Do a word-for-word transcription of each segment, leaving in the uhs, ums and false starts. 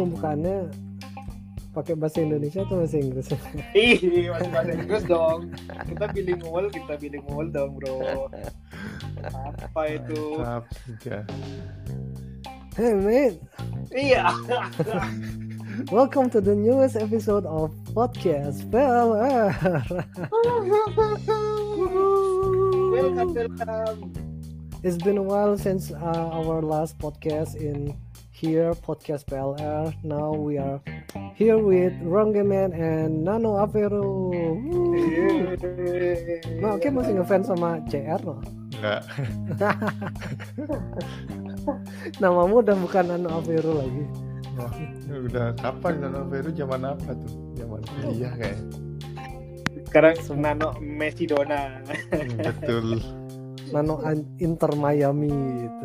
pembukaannya pakai bahasa Indonesia atau bahasa Inggris? Ih, masih bahasa Inggris dong. Kita bilingual, kita bilingual dong, bro. Apa itu? Mantap juga. Hey mate, Iya. welcome to the newest episode of podcast P L R. Welcome, welcome. It's been a while since uh, our last podcast in here, podcast P L R. Now we are here with Ronggeman and Nano Avero. Nah, oke, masih ngefans sama C R loh. Enggak. Namamu udah bukan Nano Avero lagi. Wah, udah kapan Nano Veru zaman apa tuh? Zaman kuliah kayak. Sekarang Nano Messi Dona. Hmm, betul. Nano Inter Miami gitu.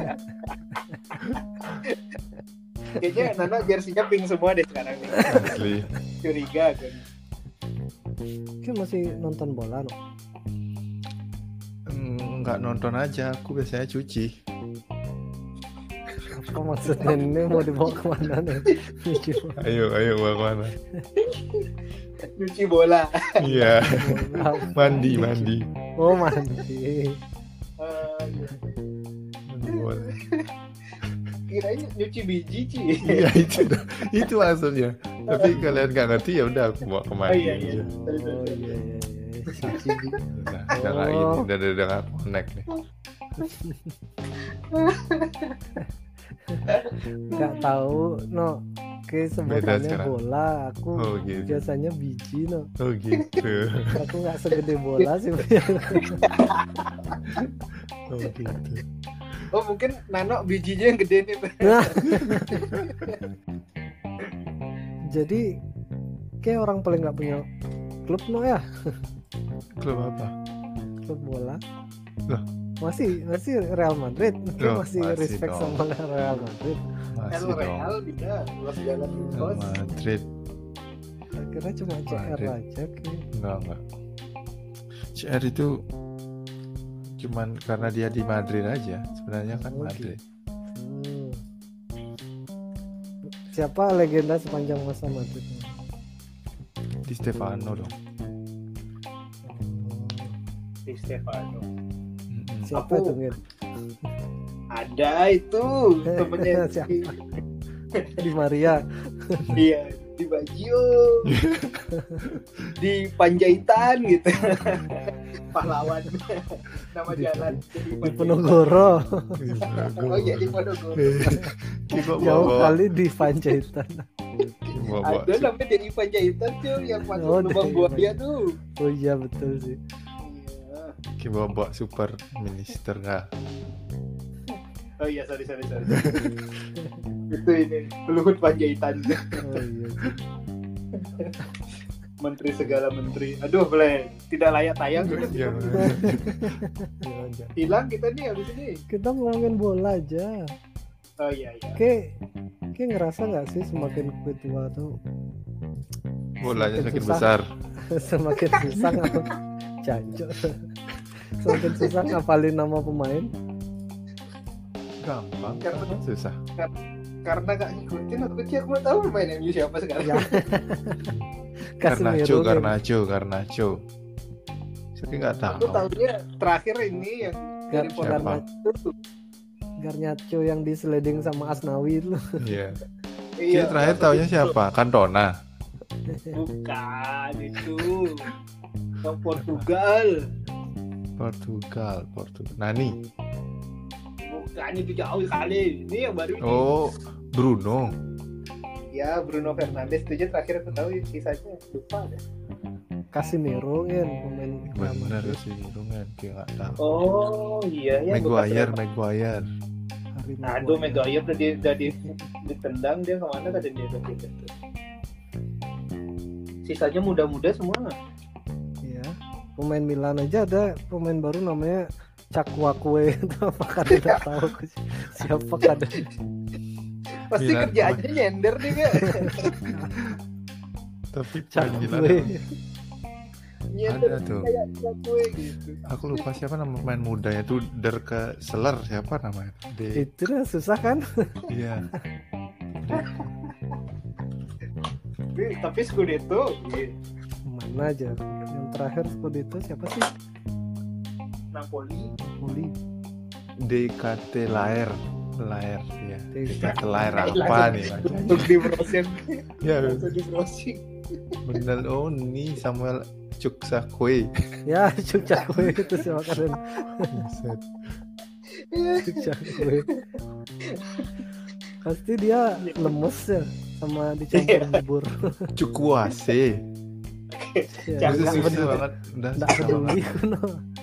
Kayaknya Nano jersinya pink semua deh sekarang nih. Asli. Curiga kan. Oke, masih nonton bola no? Enggak nonton aja, aku biasanya cuci. Apa maksudnya ini mau dibawa kemana nih? Ayo, ayo bawa kemana? Cuci bola. Iya. Mandi, mandi. Oh, mandi. Uh, Mandi bola. Kirain nyuci biji Ci. Iya itu, itu maksudnya. Tapi kalian nggak ngerti ya udah aku bawa kemana Oh iya iya. aja. Sorry, sorry, Oh sorry. iya iya iya. Cuci. Udah, udah nggak ini, Oh. udah udah udah nggak connect nih. Nggak tahu no. Oke, sebutannya sekarang. bola. Aku Oh gitu. biasanya biji no. Oh gitu. Aku nggak segede bola sih. Oh gitu. Oh mungkin Nano bijinya yang gede nih. Nah. Jadi kayak orang paling nggak punya klub no ya, Klub apa? klub bola. Loh. Masih masih Real Madrid. Kayak Loh, masih, masih respect dong. sama Real Madrid. Masih El dong. Real bisa luas jalan Real bos. Madrid. Akhirnya cuma C R Madrid. aja kayak. Enggak, enggak. C R itu cuman karena dia di Madrid aja. Sebenarnya kan Oh, Madrid. Hmm. Siapa legenda sepanjang masa Madrid? Di Stefano dong. Di Stefano. Mm-mm. Siapa Aku- tuh Ngin? Ada itu temennya Siapa? di, Di Maria. iya di Baggio, di Panjaitan gitu. Pahlawan nama Di- jalan Di Panjaitan. Penogoro. Oh iya di Ponorogo. Kita Jauh bawa kali di Panjaitan. bawa Ada namanya dari Panjaitan tuh yang masuk Oh, lubang dari buaya tuh. Oh iya betul sih. Iya. kita bawa super minister nggak? Oh iya sorry sorry sorry. Itu ini Luhut Panjaitan. Oh iya. Menteri segala menteri. Aduh boleh tidak layak tayang. Iya. Jangan, jangan. Hilang kita nih habis ini. Kita ngomongin bola aja. Oh iya iya. Kayak kayak ngerasa nggak sih semakin gue tua tuh Bolanya Semakin semakin susah. besar. semakin susah ngapalin jancok. Semakin susah ngapalin nama pemain. Gampang. Karena- Susah. Karena gak ngikutin aku sih aku mau tahu pemain M U siapa sekarang. Ya. Garnacho, Casemiro, Garnacho, Garnacho. Tapi nggak tahu. Aku tahunya terakhir ini yang dari Gar- Polan Siapa? itu. Garnacho yang di sliding sama Asnawi itu. Iya. Iya. Kita terakhir tahunya siapa? Cantona. Bukan itu. Yang Portugal. Portugal, Portugal. Nani. Bukan itu jauh sekali. Ini yang baru ini. Oh, Bruno. Ya Bruno Fernandes itu aja terakhir aku tahu sisanya lupa deh. Casemiro kan pemain Bener Madrid. sih, Bruno kayak nggak tahu. Oh iya ya. Maguire, bekas- Maguire. Harry Aduh Maguire. Maguire udah di, udah di, ditendang dia kemana tadi dia udah pindah tuh. Sisanya muda-muda semua. Iya. Pemain Milan aja ada pemain baru namanya Cakwakwe itu apakah tidak tahu aku sih. Siapa kada? Pasti Milan, kerja aja nyender nih gak? Tapi pemain Milan Cakwakwe. Nyender Ada tuh. kayak gue gitu. aku lupa siapa nama pemain mudanya tuh Derke Seller siapa namanya? D. Itu kan susah kan? Iya. tapi tapi Scudetto iya. Mana aja? Yang terakhir Scudetto siapa sih? Napoli. Napoli. D K T Laer, Laer ya. D D K K T Laer apa nih? Untuk di browsing. Ya, Untuk di browsing. bener. Oh, ini Samuel Chukwueze. Ya, Chukwueze itu siapa kalian? Buset. Chukwueze. Pasti dia lemes ya sama dicampur bubur. Chukwueze. Ya, Jangan Itu nggak susah peduli. banget. Udah Nggak susah peduli banget. kuno.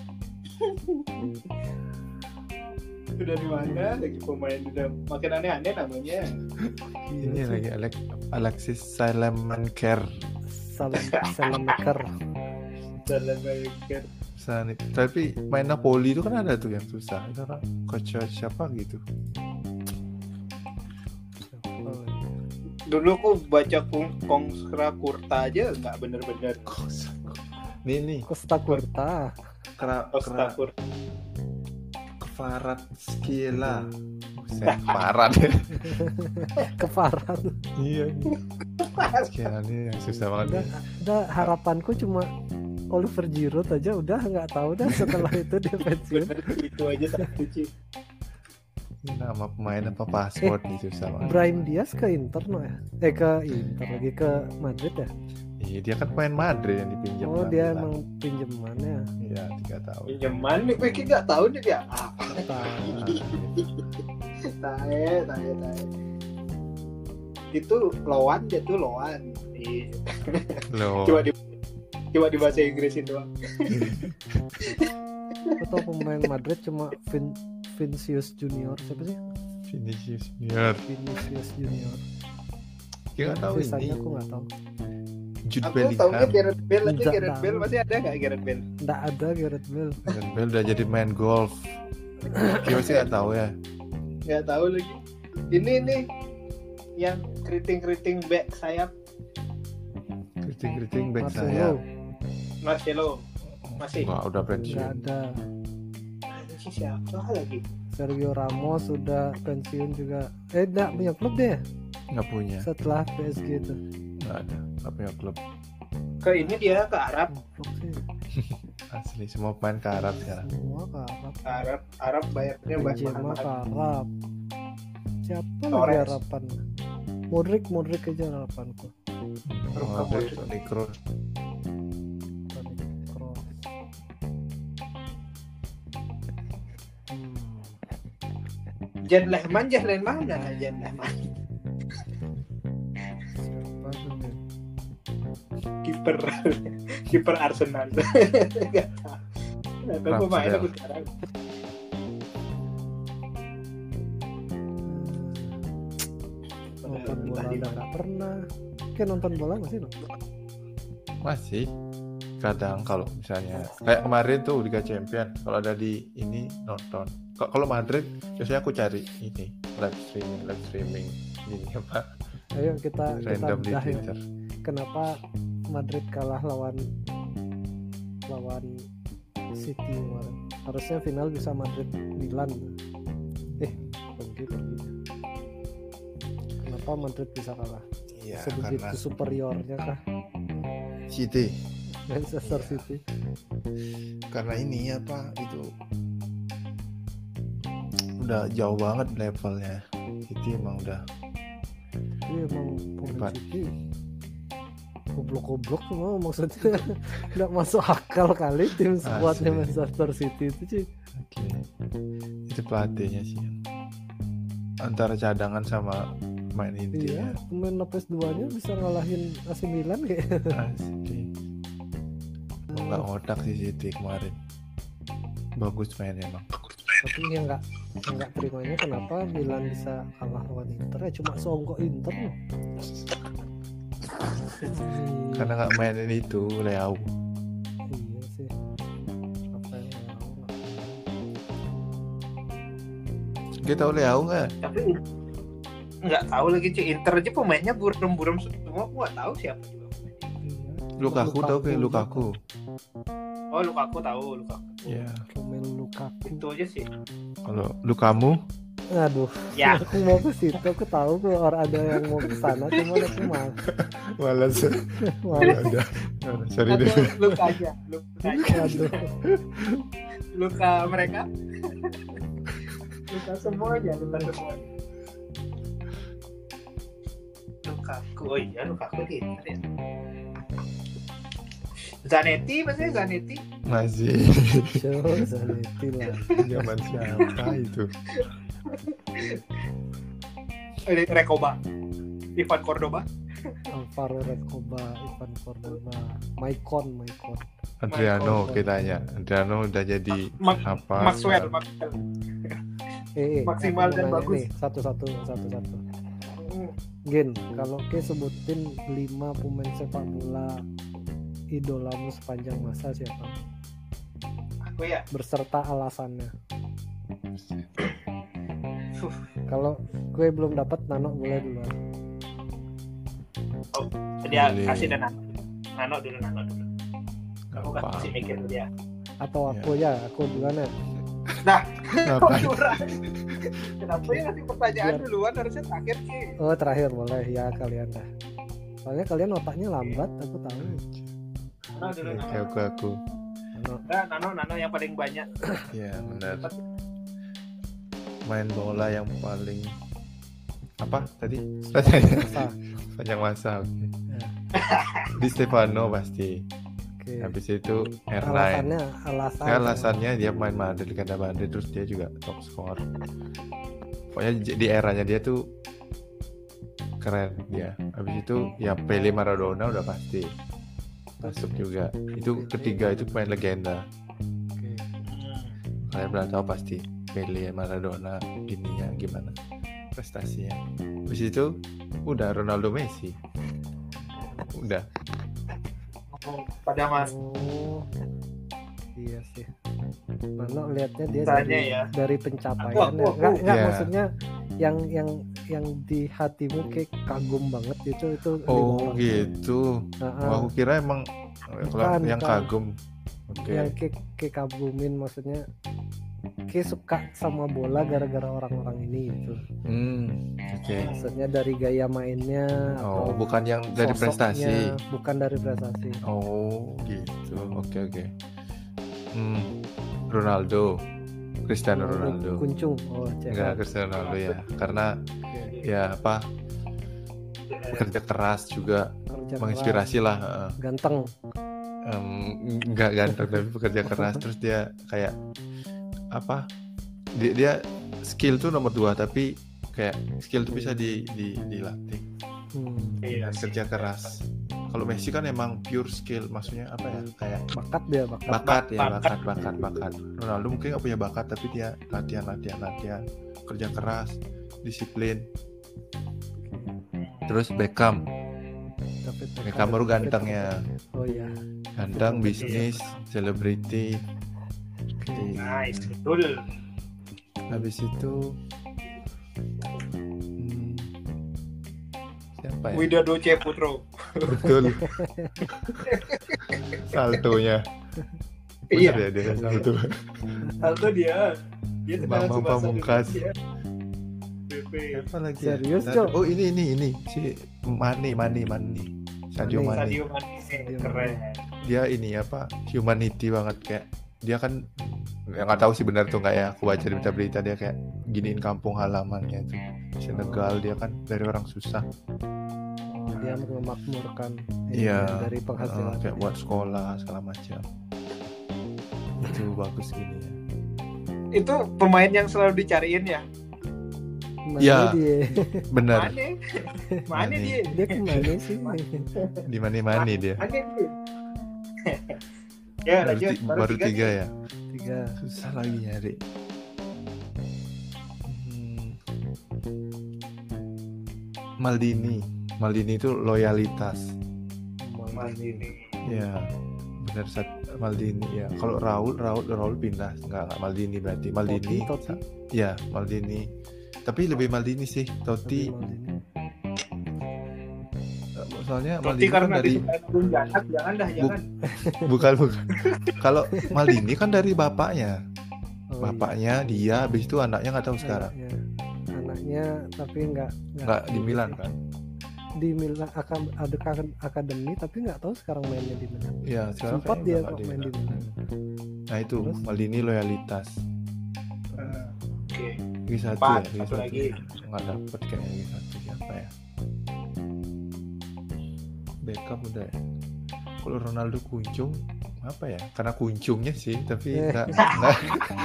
Itu dari mana lagi pemain udah makin aneh-aneh namanya. Ini lagi Alex Alexis Salamaker. Salam salam maker. Jalan Baker. Sanit. Tapi main Napoli itu kan ada tuh yang susah. Itu kan coach siapa gitu. Dulu aku baca Kong Kongsra Kurta aja nggak bener-bener. Nih nih. Costa Curta. Kera Costa kera Kurta. Kefarat Skila. Buset, Parat ya. Keparat. Iya. Skila ini yang susah banget. Udah, Ya. udah harapanku cuma Oliver Giroud aja udah nggak tahu dah setelah itu dia pensiun. Bener itu aja satu Ci. Ini nama pemain apa password nih susah banget. Brahim Diaz ke Inter no ya? Eh ke Inter lagi ke Madrid ya? Iya dia kan pemain Madrid yang dipinjam. Oh lah, dia bilang. emang pinjemannya. Iya tiga tahun. Pinjaman nih, gue kayak nggak tahu nih ya. Ah, Tahu. tae, tae, tae. Itu loan dia tuh loan. Iya. Loh. Coba di coba di bahasa Inggrisin doang. Atau pemain Madrid cuma Vin Vinicius Junior siapa sih? Vinicius Junior. Vinicius Junior. Kita nggak tahu Sisanya ini. aku nggak tahu. Jude Aku taunya Bellingham. Gareth Bale aja. Nggak Gareth tahu. Bale masih ada nggak Gareth Bale? Nggak ada Gareth Bale. Gareth Bale udah jadi main golf. Kita masih nggak tahu ya. Nggak tahu lagi. Ini nih yang keriting-keriting back sayap Keriting-keriting back Marcelo saya. Marcelo masih. Wah udah nggak pensiun. ada. Ini sih siapa lagi? Sergio Ramos sudah pensiun juga. Eh nggak punya klub deh Nggak punya. setelah P S G itu. Nggak ada. Nggak punya klub. Ke ini dia ke Arab. Klub sih. Asli semua pemain ke Arab sekarang. Semua ke Arab. Arab Arab bayarnya banyak Benzema ke mahal. Arab. Siapa lagi Torres. harapan? Modric, Modric aja harapanku. Oh, ada Toni Kroos. Toni Kroos. Hmm. Jan Lehman, Jan Lehman mana Jan Lehman? Siapa tuh nih? Kiper kiper Arsenal. Nggak tahu. Nggak tahu pemain Ramsdale. aku sekarang. Nonton bola udah nggak pernah. Kayak nonton bola masih no? Masih. Kadang kalau misalnya kayak kemarin tuh Liga Champion kalau ada di ini nonton. K- Kalau Madrid biasanya aku cari ini live streaming, live streaming ini apa Ayo kita kita random di bedah ya. Twitter. Kenapa Madrid kalah lawan lawan City kemarin? Harusnya final bisa Madrid Milan. Eh, pergi pergi. Kenapa Madrid bisa kalah? Iya Sebegitu karena superiornya kah City. Manchester Iya. City? Karena ini apa itu udah jauh banget levelnya. City emang udah Iya emang pemain Hebat. City goblok-goblok semua maksudnya nggak masuk akal kali tim skuadnya Asli. Manchester City itu sih. oke. Itu pelatihnya sih yang antara cadangan sama main inti Iya, ya. pemain Lopez duanya bisa ngalahin A C Milan kayak. Asli. Nggak ngotak sih City kemarin. Bagus mainnya emang. Tapi yang nggak yang nggak terimanya kenapa Milan bisa kalah lawan Inter ya cuma songkok Inter loh. Karena nggak mainin itu Leao. Iya sih. Apa yang mau lah. Kita tahu Leao nggak? Tapi nggak tahu lagi Ci. Inter aja pemainnya buram-buram semua. Aku nggak tahu siapa juga. Iya. Lukaku tahu kayak Lukaku. Oh Lukaku tahu Lukaku. Ya. Romelu Lukaku. Itu aja sih. Kalau Lukamu Aduh, Ya. aku mau ke situ, aku tahu kok orang ada yang mau ke sana, cuma aku malas. Malas. Malas. Udah, udah, sorry Atau deh. luka aja, luka aja. Aduh, Luka mereka. Luka semuanya, luka semuanya. Lukaku, oh iya Lukaku Twitter ya. Zanetti, maksudnya Zanetti. Masih show Zanetti lah. zaman siapa itu? Eh, Recoba, Ivan Cordoba, Alvaro Recoba, Ivan Cordoba, Maicon, Maicon. Adriano Michael. kitanya. Adriano udah jadi Ma- apa? Maxwell, Maxwell. Eh, eh, Maksimal aku dan mau nanya bagus. nih, satu-satu, satu-satu. Hmm. Gin, kalau ke sebutin lima pemain sepak bola idolamu sepanjang masa siapa? Aku ya, Berserta alasannya. Fuh. Kalau gue belum dapat, Nano boleh duluan. Oh, dia Boleh. kasih dan Nano. Nano dulu, Nano dulu. Aku Apa? kasih mikir dulu ya. Atau aku ya, aku duluan ya. Nah, Ngapain? curang. Kenapa ya ngasih pertanyaan Biar- duluan, harusnya terakhir sih. Oh terakhir boleh ya kalian dah. Soalnya kalian otaknya lambat, aku tahu. Nano dulu, Oke, Nano. aku aku. Nano, Nah, Nano, Nano yang paling banyak. Ya benar. Main bola yang paling apa tadi? masa. Panjang masa. Oke. Ya. Di Stefano pasti. Oke. Habis itu R sembilan. Alasannya, alasan. Ya, alasannya dia main Madrid kata Madrid, terus dia juga top score. Pokoknya j- di eranya dia tuh keren dia. Habis itu ya Pele, Maradona udah pasti masuk juga. Itu ketiga itu pemain legenda. Oke. Kalian pernah tahu pasti Pele, Maradona ininya gimana prestasinya. Habis itu udah Ronaldo, Messi. Udah. Pada mas, Oh, iya sih. Nano lihatnya dia Tanya dari, ya. dari pencapaiannya. Aku, aku, aku. Nggak, nggak Iya. maksudnya yang yang yang di hatimu kayak kagum banget itu itu lima Oh orang. gitu. Nah, Wah, aku kira emang kalau Bukan, yang bukan. kagum. Oke. yang kayak kayak kagumin maksudnya kayak suka sama bola gara-gara orang-orang ini gitu. Hmm, oke. Maksudnya dari gaya mainnya Oh, atau bukan yang dari sosoknya, prestasi. bukan dari prestasi. Oh, gitu. Oke, oke. Hmm, Ronaldo, Cristiano Ronaldo. Kuncung. Oh, cek. Enggak, Cristiano Ronaldo ya. Karena Oke. ya apa? Bekerja keras juga Kerja menginspirasi lah. heeh. keras, ganteng. Em, nggak ganteng tapi bekerja keras, terus dia kayak apa? Dia, dia skill tuh nomor dua, tapi kayak skill tuh bisa di, di dilatih Hmm. Iya dan sih. kerja keras. Kalau Messi kan emang pure skill, maksudnya apa ya? Kayak Bakat dia, bakat. bakat ya, Bakat. bakat, bakat, bakat. Ronaldo mungkin nggak punya bakat, tapi dia latihan, latihan, latihan, kerja keras, disiplin. Terus Beckham, David Beckham baru gantengnya, Oh iya. ganteng, bisnis, selebriti. Nice, betul. Habis itu hmm, siapa ya? Widodo Ceputro. Betul. Saltonya. Iya. Bener ya dia salto. Salto dia. Dia tendangan Bambang Tsubasa Pamungkas. dulu, dia. B P. Siapa lagi? ya? Serius, Ntar- Cok? Oh ini ini ini si Mane Mane Mane. Sadio Mane. Mane. Sadio Mane Sadio keren. Dia ini apa? Humanity banget kayak dia kan ya nggak tahu sih benar tuh nggak ya, aku baca di berita-berita dia kayak giniin kampung halamannya itu Senegal, dia kan dari orang susah. Oh, dia memakmurkan Iya. ini dari penghasilan. Eh, kayak buat sekolah segala macam. Itu bagus gini ya. Itu pemain yang selalu dicariin ya. Mana Iya. dia? Bener. Mane. Mane Mane. dia. Dia kemana sih? Di mana-mana dia. Mane dia. Ya, Baru, lanjut. ti- baru tiga ya. Tiga. Susah lagi nyari. Hmm. Maldini. Maldini itu loyalitas. Maldini. Ya, benar saat Maldini ya. Kalau Raul, Raul, Raul pindah, enggak, enggak Maldini berarti. Maldini. Totti, Totti. Ya, Maldini. Tapi lebih Maldini sih. Totti. Maldini. Soalnya Totti Maldini kan karena dari disukai burung jahat, jangan dah, jangan. bukan bukan. Kalau Maldini kan dari bapaknya. Oh, Bapaknya dia, habis itu anaknya nggak tahu iya. sekarang. Iya. Nya tapi nggak Nggak di Milan kan? Di Milan akan ada kan akademi tapi nggak tahu sekarang mainnya di Milan. Iya, sekarang Sempat kayaknya dia nggak kok di main di Milan. Milan. Nah itu Terus? Maldini loyalitas. Eh, Oke. Liga satu Empat, ya, Liga satu satu. lagi. Nggak dapet kayaknya Liga satu siapa ya? Beckham udah ya. Kalau Ronaldo kuncung apa ya? Karena kuncungnya sih, tapi Eh. nggak nggak.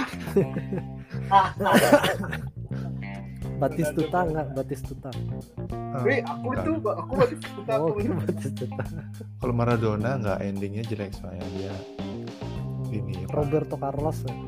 Batistuta nggak Batistuta. Ah, Wih, aku nggak. tuh, aku masih suka Oh, aku ini. Batistuta. Kalau Maradona nggak, endingnya jelek soalnya dia ini. apa, Roberto Carlos. ya.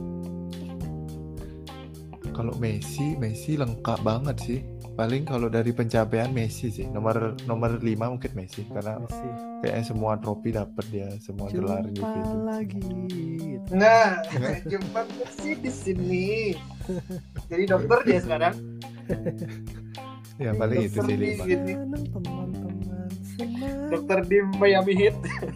Kalau Messi, Messi lengkap banget sih. Paling kalau dari pencapaian Messi sih. Nomor nomor lima mungkin Messi karena Messi. kayaknya semua trofi dapat dia, semua gelar Jumpa individu. lagi. Gitu. Nah, jumpa Messi di sini. Jadi dokter dia sekarang. Ya paling itu Dokter sih di lima. sini. Senang teman-teman senang. Dokter di Miami Heat.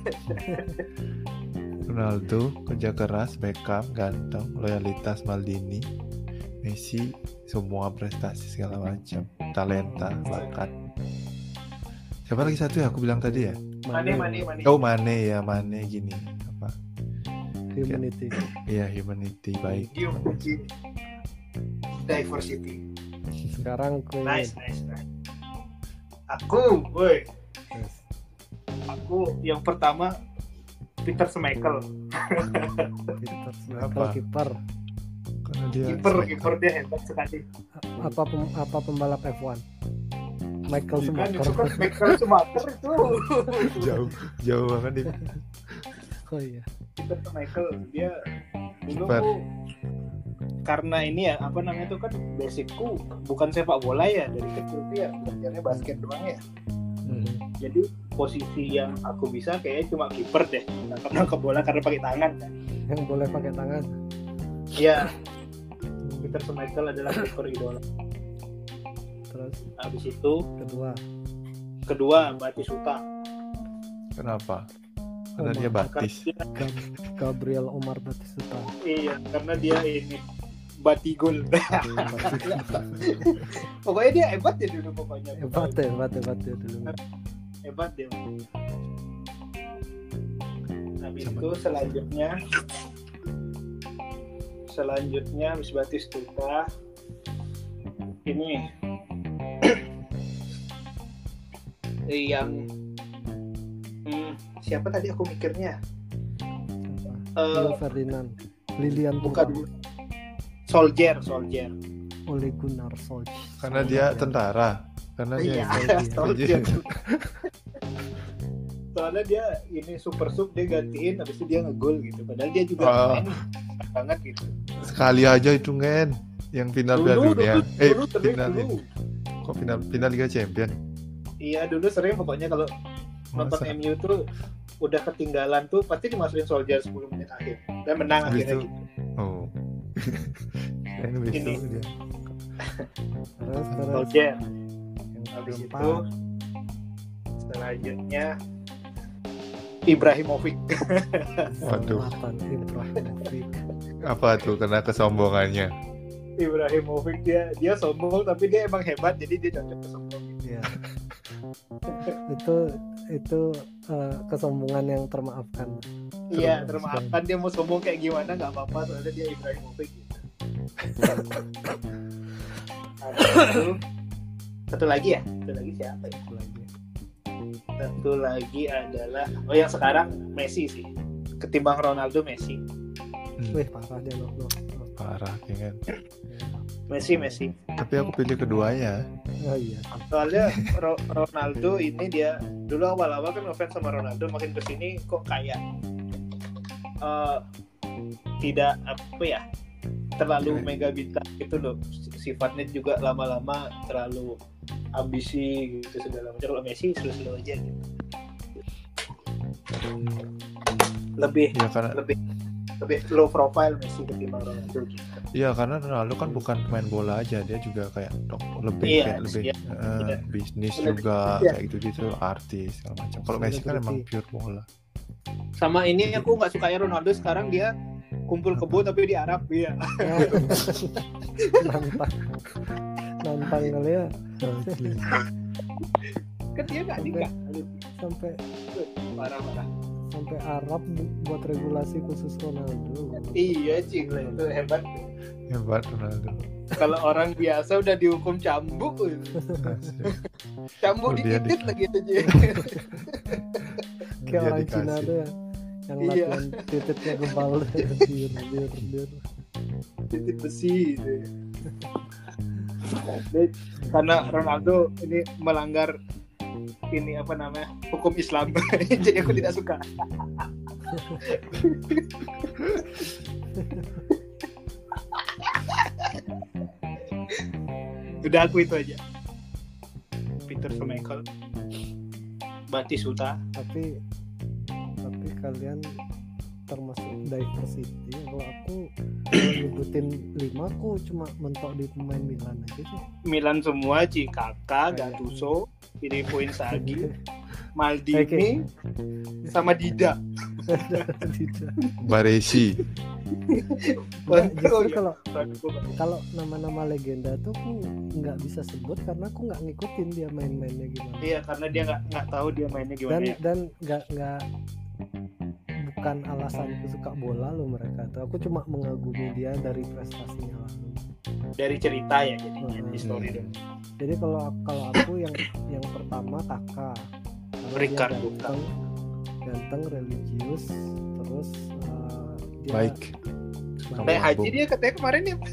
Ronaldo kerja keras, Beckham ganteng, loyalitas Maldini, Messi semua prestasi segala macam, talenta, bakat. Siapa lagi satu ya aku bilang tadi ya? Mane, Mane, Mane. Oh Mane ya, Mane gini apa? Humanity. Iya, humanity baik. Gium Puccini. Diversity. Sekarang Queen. Nice, nice, nice. Aku, woi, Yes. aku yang pertama Peter Schmeichel. Peter Apa? Schmeichel kiper. Karena dia Kiper, kiper dia hebat sekali. Apa pem- apa pembalap F satu? Michael Bukan, Schumacher. itu kan Schmeichel Schumacher itu. jauh jauh banget dia. Oh iya. Peter Schmeichel dia dulu Kiper. tuh karena ini ya apa namanya tuh kan basicku bukan sepak bola ya, dari kecil tuh ya belajarnya basket doang ya. Mhm. Jadi posisi yang aku bisa kayaknya cuma kiper deh, nangkap bola karena pakai tangan kan. Yang boleh pakai tangan. Iya, Peter Schmeichel adalah kiper idola. Terus Habis itu kedua. kedua Batistuta. Kenapa? Karena Omar. dia Karena batis. dia, Gab- Gabriel Omar Batistuta. iya, karena dia ini batigol. Pokoknya dia hebat ya dulu pokoknya. Hebat ya, hebat hebat ya dulu. Hebat dia. Habis Sama. itu selanjutnya selanjutnya habis Batistuta ini yang hmm, siapa tadi aku mikirnya Siapa? Eh, Rio Ferdinand. Lilian bukan Thuram. Soldier Soldier Ole Gunnar Solskjaer. Karena dia tentara. Karena dia iya Soldier Soldier. soalnya dia ini super sub dia gantiin habis itu dia ngegol gitu padahal dia juga Oh. main banget gitu Sekali aja itu Ngen. Yang final Piala dulu Dunia. dulu eh, dulu sering final dulu ini. Kok final final Liga Champion? iya dulu sering pokoknya kalau nonton Masa? M U tuh udah ketinggalan tuh pasti dimasukin Soldier sepuluh menit akhir dan menang Habis akhirnya itu- gitu. Oh. Ini habis Ini. itu dia. Terus terus Soldier yang habis itu keempat. selanjutnya Ibrahimovic. Waduh. Zlatan Ibrahimovic. Apa tuh karena kesombongannya? Ibrahimovic dia dia sombong tapi dia emang hebat jadi dia cocok kesombong. Iya. itu itu eh, kesombongan yang termaafkan. Iya, Terus, termaafkan dia mau sombong kayak gimana nggak apa-apa soalnya dia Ibrahimovic gitu. Habis itu satu lagi ya, satu lagi siapa ya? Satu lagi. Satu lagi adalah oh yang sekarang Messi sih. Ketimbang Ronaldo Messi. Hmm, Wih parah dia loh. loh. loh. parah kan. Messi Messi. Tapi aku pilih keduanya. Oh iya. Soalnya Ro- Ronaldo ini dia dulu awal-awal kan ngefans sama Ronaldo, makin kesini kok kayak eh, tidak apa ya terlalu mega bintang gitu loh. Sifatnya juga lama-lama terlalu ambisi gitu segala macam. Kalau Messi slow-slow aja gitu. Lebih Ya karena lebih lebih low profile Messi ketimbang Ronaldo gitu. Iya karena Ronaldo kan bukan pemain bola aja, dia juga kayak dok, lebih Iya, kayak lebih iya, eh, iya. bisnis Lebih- juga iya. kayak gitu gitu artis segala macam. Kalau Messi kan emang pure bola. Sama ini aku nggak suka ya Ronaldo sekarang dia kumpul kebo tapi di Arab ya. Mantap. nantang kali ya. Kan dia nggak nikah. Sampai Parah-parah. sampai Arab bu- buat regulasi khusus Ronaldo. Iya cing, itu hebat. Hebat Ronaldo. Kalau orang biasa udah dihukum cambuk, cambuk Oh, dia dikit di- lagi aja. Kayak Dia orang Cina dikasih. tuh ya, yang Iya. latihan titiknya gebal. dir dir dir. Titik besi. Gitu. Dia- Karena Ronaldo ini melanggar ini apa namanya hukum Islam, jadi aku tidak suka. Udah aku itu aja. Peter Schmeichel, Batistuta. Tapi tapi kalian termasuk diversity. Kalau aku kalau nyebutin lima, aku cuma mentok di pemain Milan aja sih. Milan semua, Ci, Kakak, Gattuso, Filippo Inzaghi, Maldini, sama Dida. Tidak. Baresi. Enggak, justru Oh, iya. kalau kalau nama-nama legenda tuh aku nggak bisa sebut karena aku nggak ngikutin dia main-mainnya gimana. Iya, karena dia nggak nggak tahu dia mainnya Dan gimana. Ya. dan nggak nggak bukan alasanku suka bola loh mereka tuh. Aku cuma mengagumi dia dari prestasinya lalu. Dari cerita ya, jadinya Hmm. history dong. Jadi kalau kalau aku yang yang pertama Kakak. Karena dia Ricardo. ganteng, ganteng, religius, terus uh, dia Baik. Sampai haji dia katanya kemarin ya.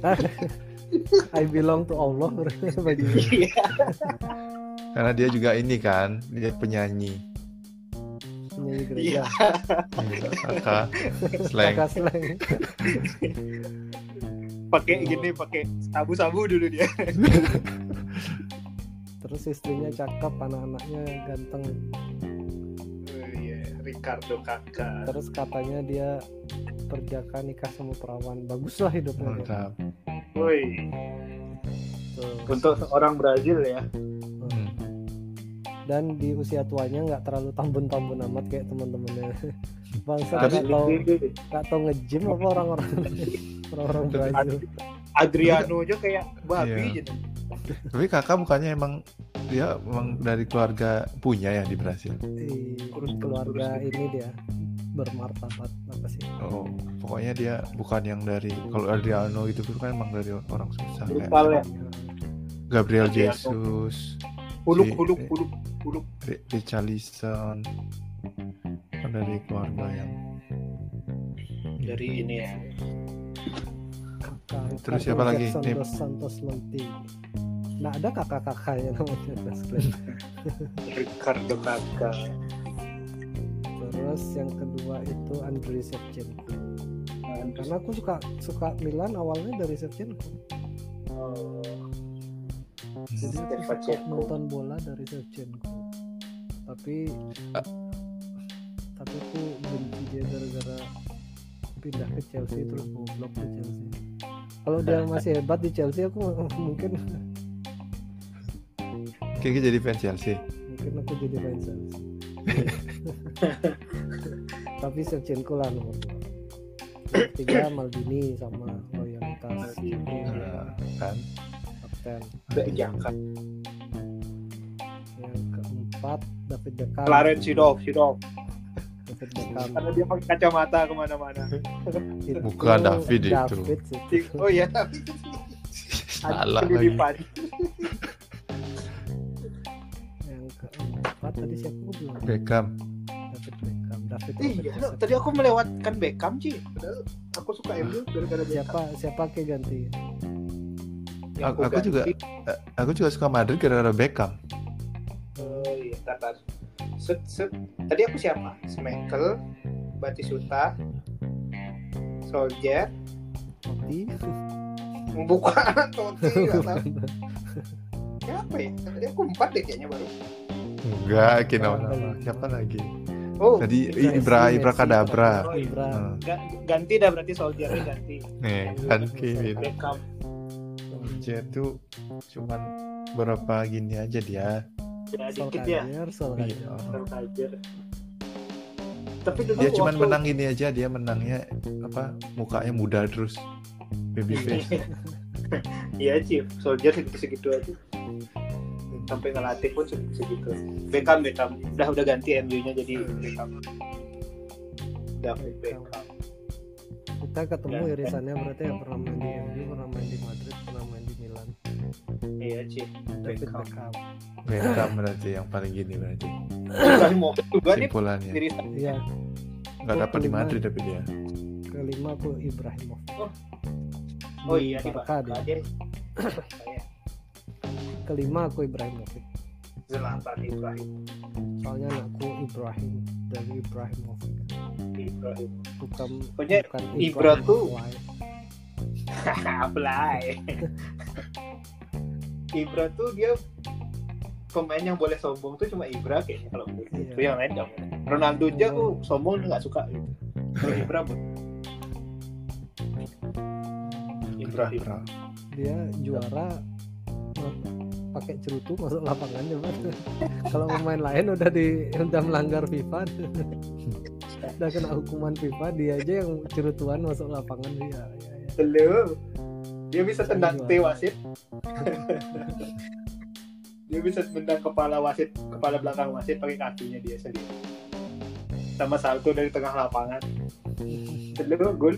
I belong to Allah bajunya. Iya. Karena dia juga ini kan, dia penyanyi. Penyanyi gereja. Iya. Iya, kakak slang. Kakak slang. Pakai gini, pakai sabu-sabu dulu dia. Terus istrinya cakep, anak-anaknya ganteng. Oh, iya, Ricardo Kakak. Terus katanya dia perjaka nikah sama perawan. Baguslah hidupnya. Mantap. Woi, Tuh. untuk seorang Brazil ya. Hmm. Dan di usia tuanya nggak terlalu tambun-tambun amat kayak teman-temannya. Bangsa Tapi- nggak tahu nggak tahu nge-gym apa orang-orang orang-orang Brazil. Adriano aja kayak babi Iya. gitu. Tapi kakak bukannya emang dia emang dari keluarga punya ya di Brasil. Di keluarga ini dia bermartabat apa sih? Oh, pokoknya dia bukan yang dari kalau Adriano itu kan emang dari orang susah kayak Brutal ya. Gabriel Adriano. Jesus, Huluk, Si- huluk, huluk, huluk. Ri- Richarlison kan dari keluarga yang Dari ini ya. Kakak Terus Ricardo siapa lagi? Jackson Nih. dos Santos Lenti. Nah ada kakak-kakaknya namanya dos Glenn. Ricardo Kakak. Terus yang kedua itu Andriy Shevchenko. Karena aku suka suka Milan awalnya dari Shevchenko. Oh, Jadi aku suka Shevchenko. nonton bola dari Shevchenko. Tapi Ah. tapi aku benci dia gara-gara pindah ke Chelsea terus goblok ke Chelsea. Kalau dia masih hebat di Chelsea aku mungkin Kayaknya jadi fans Chelsea. mungkin aku jadi fans Chelsea. Tapi Shevchenko lah nomor dua. Yang ketiga Maldini sama loyalitas Maldini. Nah, kan kapten. Udah jangka. Yang keempat David Beckham. Clarence Seedorf, Seedorf. David Beckham. Karena dia pakai kacamata kemana-mana. Itu Bukan David itu. David sih. Oh iya, tapi salah ada lagi. kelilipan. Yang keempat tadi siapa aku bilang? Beckham. David Beckham. David Iya, Robert tadi aku melewatkan Beckham sih. Padahal aku suka M U gara-gara Beckham. siapa siapa ke ganti? Yang Aku, aku juga ganti. eh, aku juga suka Madrid gara-gara Beckham. Oh iya, tar, tar. Set, set. Tadi aku siapa? Schmeichel, Batistuta, Solskjaer, Totti. membuka Totti, nggak tahu. Siapa ya? Tadi aku empat deh kayaknya baru. Enggak, kira nama. Siapa lagi? Oh, Tadi Messi, Ibra Messi, Ibra Kadabra. Oh, iya. Ibra. Nah, Ga- ganti dah berarti Solskjaer ganti. nih kan Kevin. Beckham. Dia tuh cuman berapa gini aja dia. Ya dikit ya. Solskjaer, Solskjaer. Iya. Solskjaer. Tapi dulu Dia cuman waktu- menang gini aja, dia menangnya apa? Mukanya muda terus. Baby face. Iya Chief, Soldier segitu-segitu aja. Sampai ngelatih pun segitu. Beckham Beckham udah udah ganti M U-nya jadi Beckham. David Beckham. Kita ketemu Ya. irisannya berarti yang pernah main di M U, pernah main di Madrid, pernah main di Milan. Iya Chief, David Beckham. Beckham. Beckham berarti yang paling gini berarti. Ibrahimovic juga nih Simpulannya. irisan. Iya, Nggak dapat di Madrid tapi dia. kelima aku Ibrahimovic. Oh iya di Barca Barca dia. dia. Kelima aku Ibrahimovic. Zlatan Ibrahim. Soalnya anakku Ibrahim dari Ibrahimovic. Ibrahim. Bukan Pokoknya bukan Ibra tuh- Fly. Fly. Ibra tuh dia pemain yang boleh sombong tuh cuma Ibra kayaknya kalau menurut Iya. itu yang lain nggak boleh. Ronaldo aja aku sombong nggak suka gitu. Kalau Ibra boleh. Ibrahim. Ibra. Dia juara ma- pakai cerutu masuk lapangan coba. Kalau pemain lain udah di udah melanggar FIFA, udah kena hukuman FIFA, dia aja yang cerutuan masuk lapangan dia. Ya, ya. Belum. Dia bisa tendang Juara. T wasit. Dia bisa tendang kepala wasit, kepala belakang wasit pakai kakinya dia sendiri. Sama salto dari tengah lapangan. Belum gol.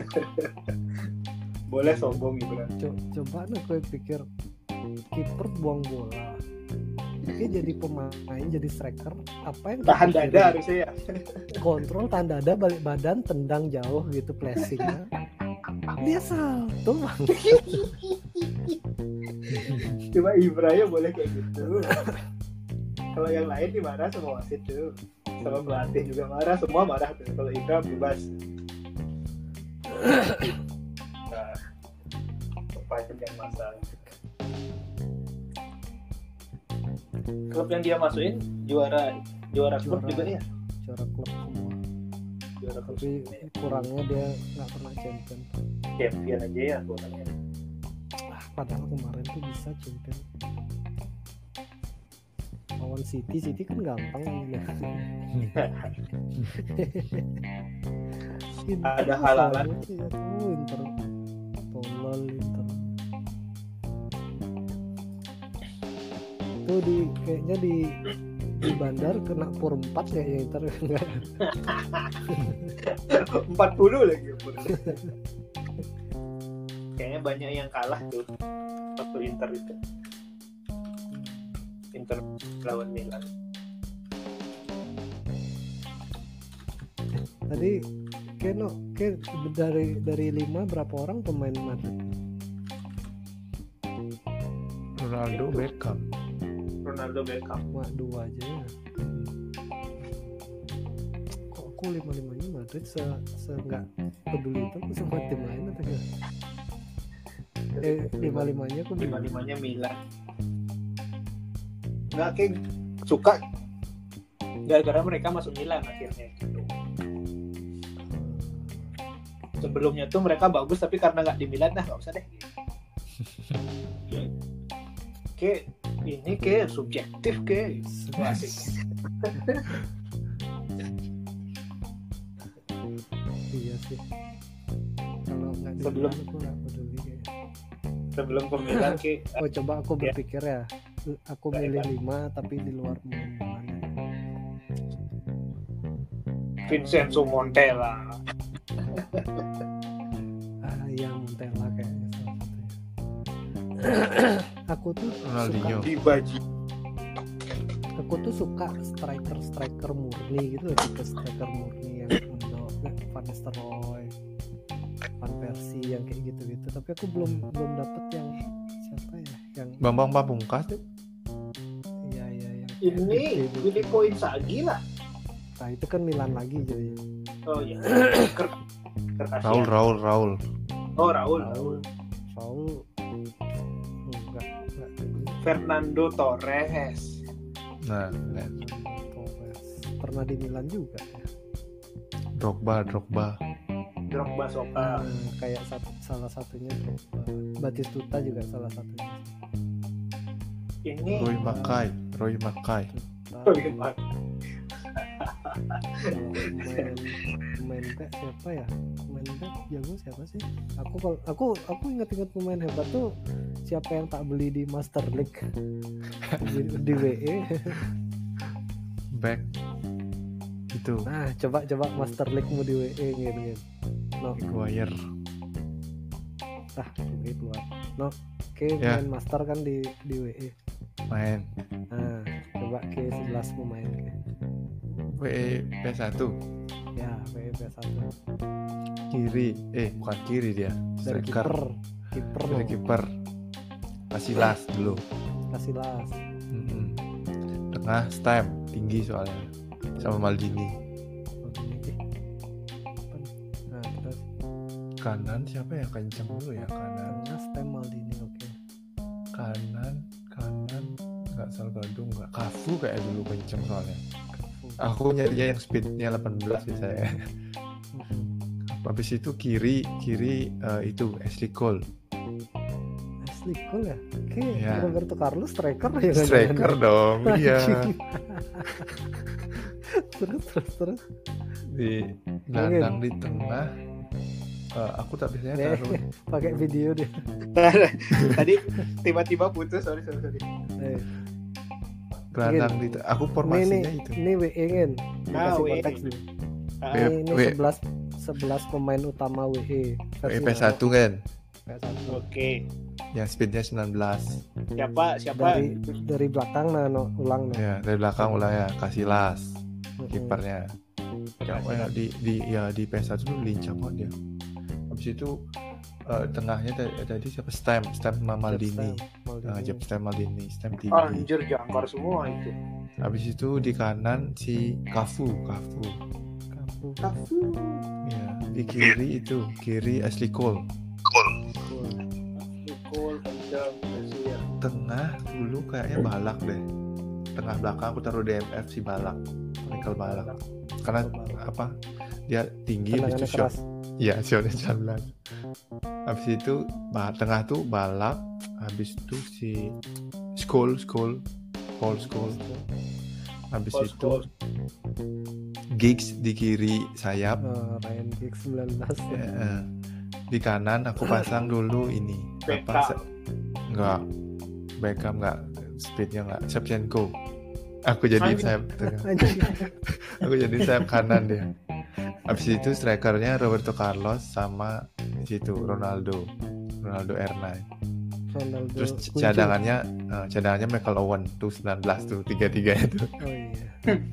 Boleh sombong Ibra. Co- coba nih gue pikir kiper buang bola, dia jadi pemain, jadi striker, apa yang Tahan dipikirin? dada harusnya ya. Kontrol, tahan dada, balik badan, tendang jauh gitu, flashing. Dia salto bang. Cuma Ibra ya boleh kayak gitu. Kalau yang lain dimarah sama wasit tuh, sama pelatih juga marah, semua marah tuh. Kalau Ibra bebas. Nah, sepanjang masa. Klub yang dia masukin juara juara klub Juara. juga ya. Juara klub semua, Juara klub tapi kurangnya dia nggak pernah champion. champion aja ya kurangnya. Ah, padahal kemarin tuh bisa champion lawan City. City kan gampang ya. Ada halangan. Ya tuh Inter tolol Inter. Tuh di kayaknya di di bandar kena pur empat ya ya Inter. empat puluh lagi umur. Kayaknya banyak yang kalah tuh waktu Inter itu. Inter lawan Milan. Tadi Keno ke dari dari lima berapa orang pemain Madrid? Ronaldo, Itu. Beckham. Ronaldo Beckham. Cuma dua aja ya. Kok aku lima limanya Madrid se se nggak peduli itu aku sama tim lain atau gimana? Eh lima limanya aku lima bingung. limanya Milan. Nggak kayak suka gara-gara mereka masuk Milan akhirnya. Sebelumnya tuh mereka bagus tapi karena nggak di Milan dah nggak usah deh. Kayak ini kayak subjektif kayak asik. Iya sih. Kalau nggak di Sebelum- Milan aku nggak peduli kayaknya. Sebelum ke Milan kayak Oh coba aku Ya. berpikir ya. Aku Baik, milih baik. lima tapi di luar pemain mana? Vincenzo Montella. Ah iya Montella kayaknya salah satunya. Aku tuh Ronaldinho. suka, Dibaji. aku tuh suka striker striker murni gitu, tipe striker murni yang Indo, Van Nistelrooy, Van Persie yang kayak gitu-gitu. Tapi aku belum belum dapet yang siapa ya, yang Bambang Pamungkas tuh. iya iya yang Ini gitu. Filippo Inzaghi lah. Nah itu kan Milan lagi jadi. Oh iya. Ker Kertas Raul, ya. Raul, Raul. Oh Raul. Raul, Raul enggak enggak Fernando Torres. Nah, lihat. Torres. Pernah di Milan juga ya. Drogba, Drogba. Drogba Soka. Nah, kayak satu, salah satunya Drogba. Batistuta juga salah satunya. Ini Roy Mackay, Roy Mackay. Nah, Oh, iya, Pak. kalau pemain pemain back siapa ya? Pemain back jago siapa sih? Aku kalau aku aku ingat-ingat pemain hebat tuh siapa yang tak beli di Master League di, di W E. Back itu Nah, coba coba Master League-mu di W E gitu gitu. No, Maguire. ah gitu lah. No, oke Ya. main Master kan di di W E. Main Nah, coba ke sebelas pemain ke. W E P satu Ya, W E P satu. kiri eh bukan kiri dia Dari striker kiper, kiper dari no. kiper Casillas dulu. Casillas. Mm-mm. Tengah Stem tinggi soalnya sama Maldini. Nah, terus Kanan siapa yang kencang dulu ya? Kanan tengah Stem Maldini, oke. kanan kanan nggak Salgado nggak Cafu kayak dulu kencang soalnya. Aku nyarinya yang speednya delapan belas biasanya. Habis itu kiri kiri eh, itu Ashley Cole. Ashley Cole ya? Oke, Ya. Roberto Carlos striker ya kan? Striker dong, iya. terus terus terus. Di gelandang di tengah. eh, aku tak biasanya Nih, taruh pakai video deh. Tadi tiba-tiba putus, sorry sorry sorry. Eh, gelandang di te- aku formasinya ini, itu. Ini W E kan? Ah, Dikasih W E. konteks dulu. Ah, W E. Ini, ini sebelas sebelas pemain utama W E. W E P satu kan, P satu. Oke. yang speednya sembilan belas. Siapa siapa? Dari dari belakang nah no, ulang no. Ya dari belakang ulah ya Casillas Mm-mm. kipernya. Yang ya, di di ya di P S satu dulu lincah banget dia. Habis itu eh, tengahnya tadi, tadi siapa Stem Stem sama Maldini. Stem, Maldini. Nah, Jeb Stem Maldini, Stem tinggi. Anjir jangkar semua itu. Habis itu di kanan si Cafu, Cafu. Kafu. Kafu. Ya, di kiri itu, kiri Ashley Cole. Cool. Cool, kencang, Mesir. Tengah dulu kayaknya Balak deh. Tengah belakang aku taruh D M F si Balak, Michael Balak. Karena apa? Dia tinggi habis Tendangannya itu shot. keras. Iya, shotnya jalan. Habis itu bah, tengah tuh Balak, habis itu si Skull, Skull, Paul Skull. Habis Paul itu Scholes. Giggs di kiri sayap. Oh, Ryan Giggs sembilan belas ya. Eh, di kanan aku pasang dulu ini apa Beckham. se- enggak Beckham enggak speednya enggak Shevchenko. Aku jadi Anjing. sayap tengah. Anjing. Aku jadi sayap kanan dia. Habis itu strikernya Roberto Carlos sama di situ Ronaldo Ronaldo R sembilan. Ronaldo. Terus kunci. cadangannya eh, cadangannya Michael Owen tuh sembilan belas tuh tiga-tiga itu. Oh iya.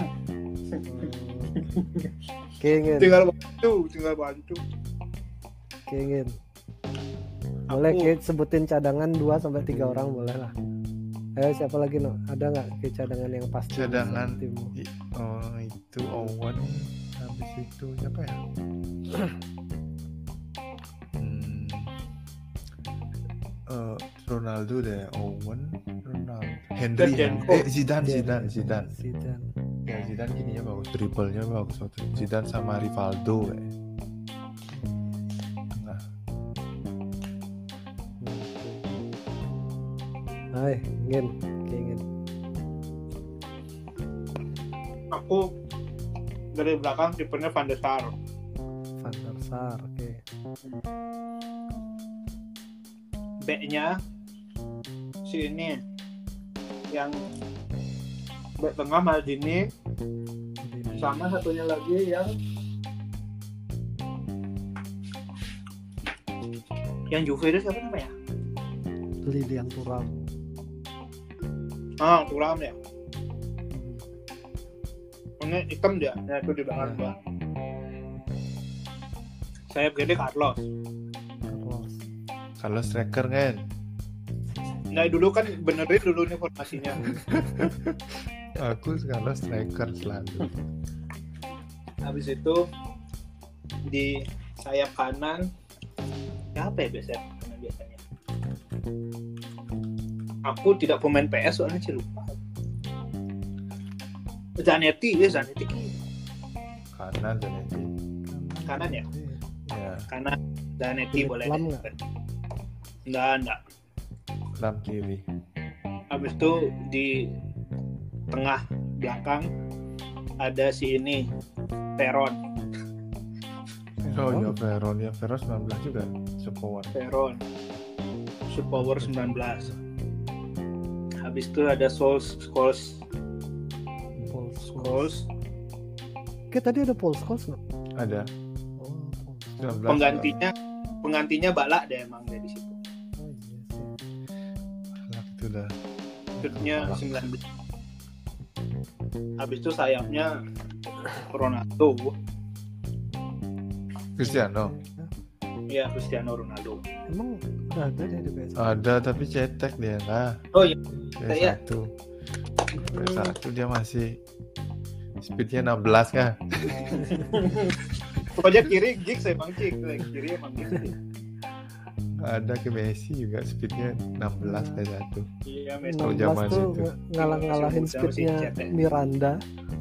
Kengin, Tinggal bantu, tinggal bantu. kengin. Boleh Aku- Ki, sebutin cadangan dua sampai tiga orang boleh lah. Ayo siapa lagi no? Ada nggak Ki, cadangan yang pasti? Cadangan buat timmu? i- oh, itu Owen. Habis itu siapa ya? Hmm, eh, Ronaldo deh, Owen, Ronaldo, Henry, Shevchenko. eh Zidane, Zidane, Zidane. Zidane. Ya Zidane gininya bagus, dribblenya bagus waktu itu. Zidane sama Rivaldo kayak. Nah, Hai, ingin, ingin. Aku dari belakang kipernya Van der Sar. Van der Sar, oke. Backnya si ini yang back tengah Maldini, sama satunya lagi yang yang Juve itu siapa namanya? Lilian Thuram. Ah, Thuram ya. Ini hitam dia, nah itu di belakang gua. Sayap gede Carlos. Carlos. kalau striker kan, Nah dulu kan benerin dulu nih formasinya. aku kalau striker selalu. Habis itu di sayap kanan siapa ya biasanya? Kanan biasanya. Aku tidak pemain P S soalnya sih lupa. Zanetti, ya Zanetti Kanan Zanetti. kanan ya, Ya, kanan Zanetti Philip boleh. Lam deh. nggak? Enggak, enggak. Lam kiri. Habis itu di tengah belakang ada si ini Peron. Oh iya, Veron ya, Veron sembilan belas juga, Superpower. Veron, Superpower sembilan belas. Habis itu ada Souls, Scholes, Paul Scholes. Scholes. Oke, tadi ada Paul Scholes nggak? Ada. Oh, Paul Scholes. sembilan belas. Penggantinya, penggantinya Balak deh emang dari situ. Oh iya sih. Balak itu udah. Shootnya sembilan belas. Habis itu sayapnya Ronaldo, Cristiano. ya Cristiano Ronaldo. Emang udah ada deh di P S. Ada tapi cetek dia lah. Oh iya, P S Saya- satu. P S satu dia masih speednya enam belas kan. pokoknya kiri Giggs emang Giggs, kiri emang Giggs. Ada ke Messi juga speednya enam belas P S satu. Iya, Messi. Kalau enam belas zaman tuh situ. ng- ngalah-ngalahin Masih muda, masih speednya jet ya. Miranda.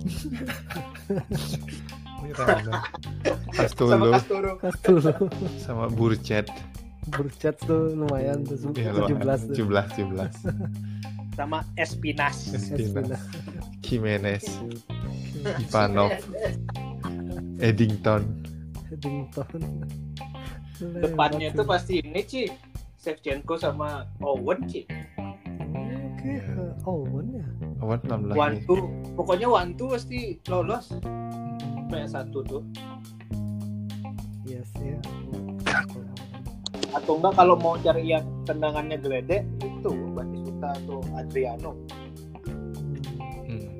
Miranda. Sama Pastolo Castoro. Castolo. sama Burcet. Burcet tuh lumayan tuh Ya, tujuh belas tuh. tujuh belas tujuh belas. Sama Espinas. Espina, Jimenez, Ivanov, Eddington. Eddington. Depannya Lebat itu sih. pasti ini Ci, Shevchenko sama Owen Ci. Oke, ke Owen ya. Awan enam belas. One nih. two, pokoknya one two pasti lolos P S satu tuh. Yes ya. Atau enggak kalau mau cari yang tendangannya geledek itu Batistuta atau Adriano. Hmm.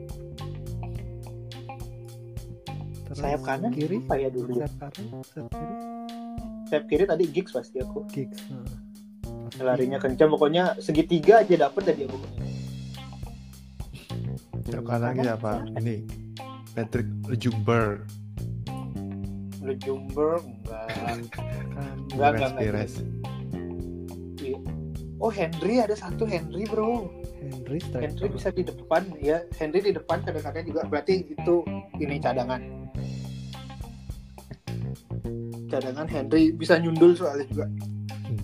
Terus Sayap kanan kiri, apa ya dulu? sayap kanan, sayap kiri, Sayap kiri tadi Giggs pasti aku. Giggs. Nah. Larinya kencang, pokoknya segitiga aja dapet dari dia pokoknya. Yang kanan lagi apa? Ini Patrick Ljungberg. Ljungberg enggak. Kan, Enggak, Pires, enggak, Pires. Iya. Oh Henry ada satu Henry bro. Henry Henry striker. bisa di depan ya. Henry di depan kadang-kadang juga berarti itu ini cadangan. Cadangan Henry bisa nyundul soalnya juga. Hmm.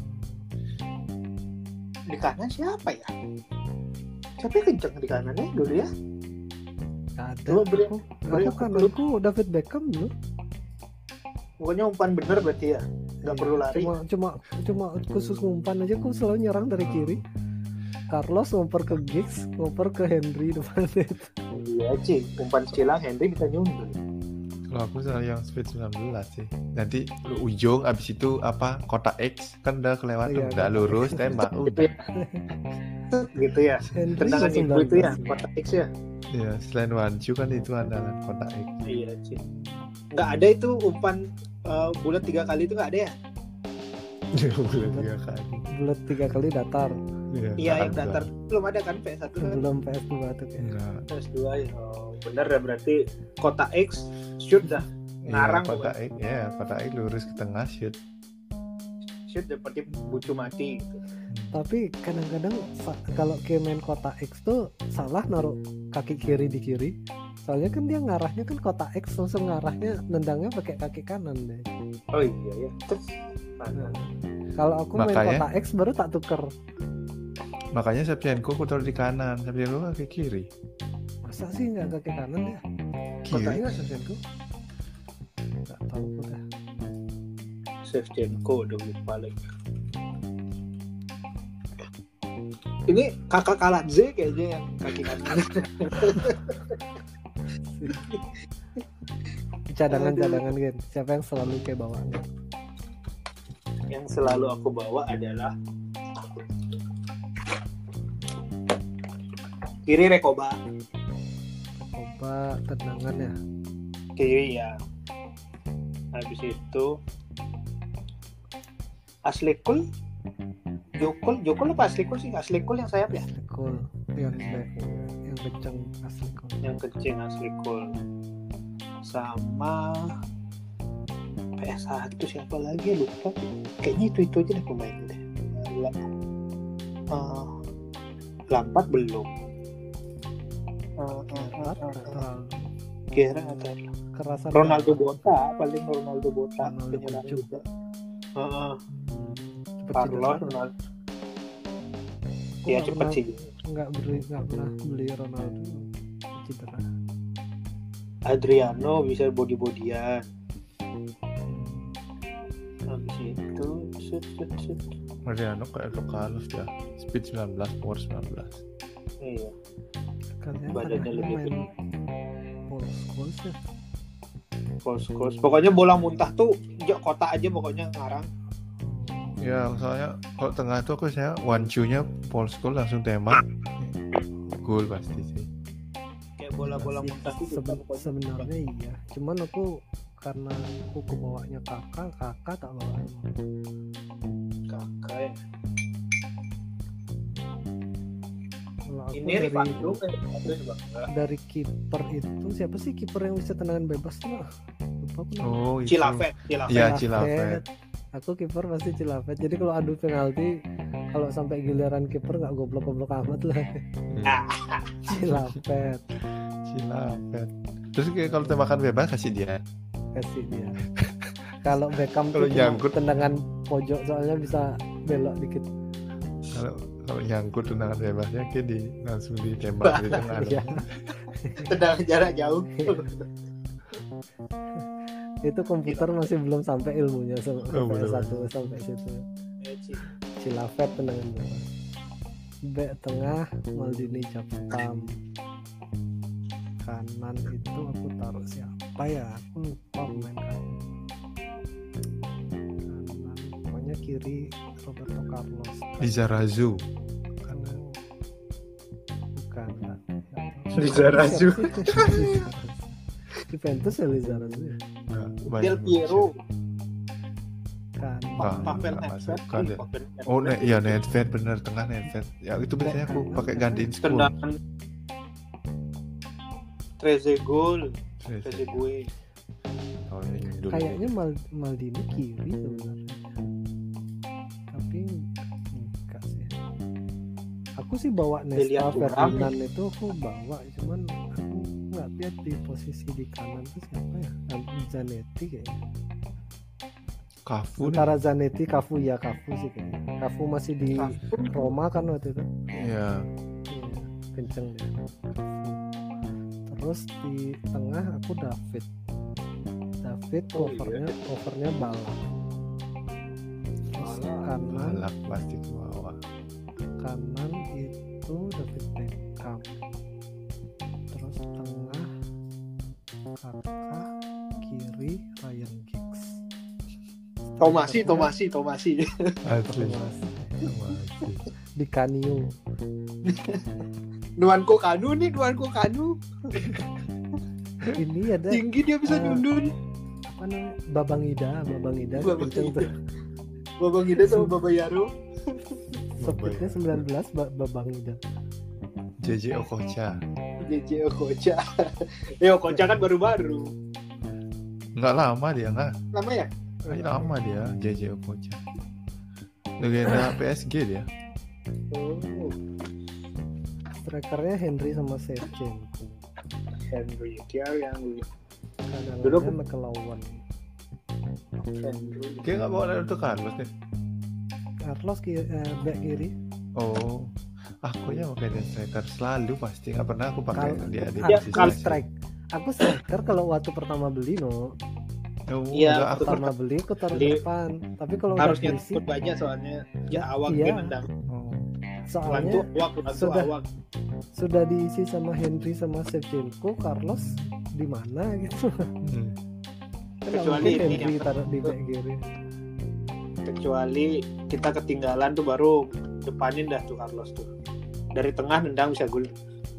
Di kanan siapa ya? Siapa yang kenceng di kanannya dulu ya? Nggak ada. Dulu beri- Aku, beri- aku kananku David Beckham dulu. Pokoknya umpan bener berarti ya. Nggak Iya, perlu lari. Cuma cuma cuma khusus ngumpan aja aku selalu nyerang dari kiri. Carlos ngoper ke Giggs, ngoper ke Henry depan itu. Iya Ci, umpan silang Henry bisa nyundul. Kalau aku selalu yang speed sembilan belas sih. Nanti lu ujung abis itu apa kotak X kan udah kelewat tuh, Iya, udah kotak lurus X. tembak Gitu udah. ya. Gitu ya. Henry Tendangan juga ibu itu ya, sembilan belas. kotak X ya. Iya, selain Wanju kan itu andalan kotak X. Iya Ci. Nggak ada itu umpan uh, bulat tiga kali itu nggak ada ya? Bulan tiga kali. Bulat tiga kali datar. Iya yang kan, datar belum ada kan P S satu kan? Belum P S dua tuh kayak. Enggak. P S dua ya. Oh, bener ya berarti kotak X shoot dah. Ngarang Iya, kotak X, ya kotak X lurus ke tengah shoot. Shoot seperti bucu mati gitu. Tapi kadang-kadang sa- kalau kayak main kotak X tuh salah naruh kaki kiri di kiri. Soalnya kan dia ngarahnya kan kotak X langsung ngarahnya nendangnya pakai kaki kanan deh. Oh iya ya. Terus mana? Kalau aku main Makanya- kotak X baru tak tuker. Makanya Shevchenko aku taruh di kanan, Shevchenko kan ke kiri. Masa sih nggak kaki kanan ya? Kiri Kotaknya kan Shevchenko? Nggak tahu udah. Shevchenko udah balik. Ini kakak Kaladze kayaknya yang kaki kanan. Cadangan-cadangan gitu. Siapa yang selalu kayak bawaan? Yang selalu aku bawa adalah kiri Rekoba, Coba tendangan ya. kiri ya. Habis itu Aslikul, Jokul, Jokul apa Aslikul sih? Aslikul yang sayap ya? Cool. Yang back, yang kenceng asli cool. Yang kecil Aslikul. Sama P S satu siapa lagi lupa. Kayaknya itu itu aja deh pemainnya deh. Uh, Lampard belum. Uh, uh, uh, Nggak uh, uh. terlalu Kira atau kerasan. Ronaldo Bota, paling Ronaldo Bota Ronaldo penyerang Bocuk. juga. Uh, Cepet Carlos cedera. Ronaldo. Aku Iya nggak cepet pernah- sih. Nggak beli, nggak pernah beli Ronaldo cedera. Adriano bisa body-bodyan. habis itu shoot shoot shoot. Mariano kayak Carlos ya, speed sembilan belas, power sembilan belas. Iya. Katanya Badannya tengahnya lebih main Paul Scholes ya. Close close. Pokoknya bola muntah tuh jok kotak aja pokoknya ngarang. Ya soalnya kalau tengah itu aku saya one two-nya Paul Scholes langsung tembak, gol pasti sih. Kayak bola-bola Sih, muntah tuh seben- pokoknya. sebenarnya iya. Cuman aku karena aku kebawanya kakak, kakak tak bawa. Kakak ya. Kalau aku Ini dari, Rivaldo kan Rivaldo juga enggak. dari kiper itu siapa sih kiper yang bisa tendangan bebas tuh? Lupa aku namanya. Oh itu. Cilafet, Cilafet. Iya Cilafet. Aku kiper pasti Cilafet. Jadi kalau adu penalti, kalau sampai giliran kiper nggak goblok-goblok amat lah. Ah. Cilafet Cilafet. Terus kayak kalau tembakan bebas kasih dia. kasih dia. Kalau Beckham Kalau tuh cuma nyangkut. tendangan pojok soalnya bisa belok dikit. Kalau kalau nyangkut tendangan bebasnya kayak di langsung ditembak di tengah. Iya. Tendangan jarak jauh. Itu komputer masih belum sampai ilmunya sampai Oh, belum. satu sampai situ. Ya, Ci. Cilafet tendangan bebas. Bek tengah Maldini Japstam. Kanan itu aku taruh siapa ya? Aku lupa pemain kanan. Kanan pokoknya kiri Roberto Carlos. Lizarazu. Oh, bukan enggak. Lizarazu. Juventus ya Lizarazu ya? Nah, Del Piero. Kan Ah, Pavel nggak Nedved. masuk, ada. Pavel Nedved. Oh, ne iya Nedved bener tengah Nedved. Ya itu biasanya aku pakai gantiin Scholes. Tendangan Trezeguet, Trezeguet. Oh, ini dulu. kayaknya Mal- Maldini kiri sebenarnya. Tapi enggak sih. Aku sih bawa Nesta Dilihat orang. Ferdinand itu aku bawa, cuman aku nggak lihat di posisi di kanan itu siapa ya? Zanetti kayaknya. Cafu nih. Antara Zanetti, Cafu ya Cafu sih kayaknya. Cafu masih di Cafu. Roma kan waktu itu. Iya. Iya, kenceng deh. Terus di tengah aku David. David Oh, covernya covernya balak. Terus Balak. kanan Balak pasti ke bawah. kanan itu David Beckham. Terus tengah kakak, kiri Ryan Giggs. Tomasi, Strikernya Tomasi, Tomasi. Asli. Thomas. Asli. Di Canio. Nuanko Kanu nih, Nuanko Kanu. Ini ada Tinggi dia bisa Eh, nyundun. apa namanya? Babang Ida, Babang Ida Babang kenceng Ida. tuh. Babang Ida sama Baba Yaro. Speednya sembilan belas ba- Babang Ida. J J Okocha. J J Okocha. Eh Okocha kan baru-baru. Nggak lama dia nggak. Lama ya? Nggak lama dia J J Okocha. Legenda P S G dia. Oh, Strikernya Henry sama Shevchenko. Henry, dia yang Cadangannya Dulu- McLawan. Henry. Kayak nggak bawa Roberto Carlos nih. Carlos kiri, eh, back kiri. Oh, aku ya pakai dia striker selalu pasti nggak pernah aku pakai Kal- dia di Ya, posisi Kalau asing. strike, aku striker kalau waktu pertama beli no, Oh, Iya, enggak, aku pertama beli aku taruh Beli. di depan. Tapi kalau udah Harusnya diisi, ikut banyak soalnya ya awak Iya. dia nendang. oh, Lantu soalnya awak, lantu sudah awak. sudah diisi sama Henry sama Shevchenko, Carlos di mana gitu. hmm. Kan nggak Kecuali mungkin ini Henry yang- taruh di back kiri. Kecuali kita ketinggalan tuh baru depanin dah tuh Carlos tuh. Dari tengah nendang bisa gol.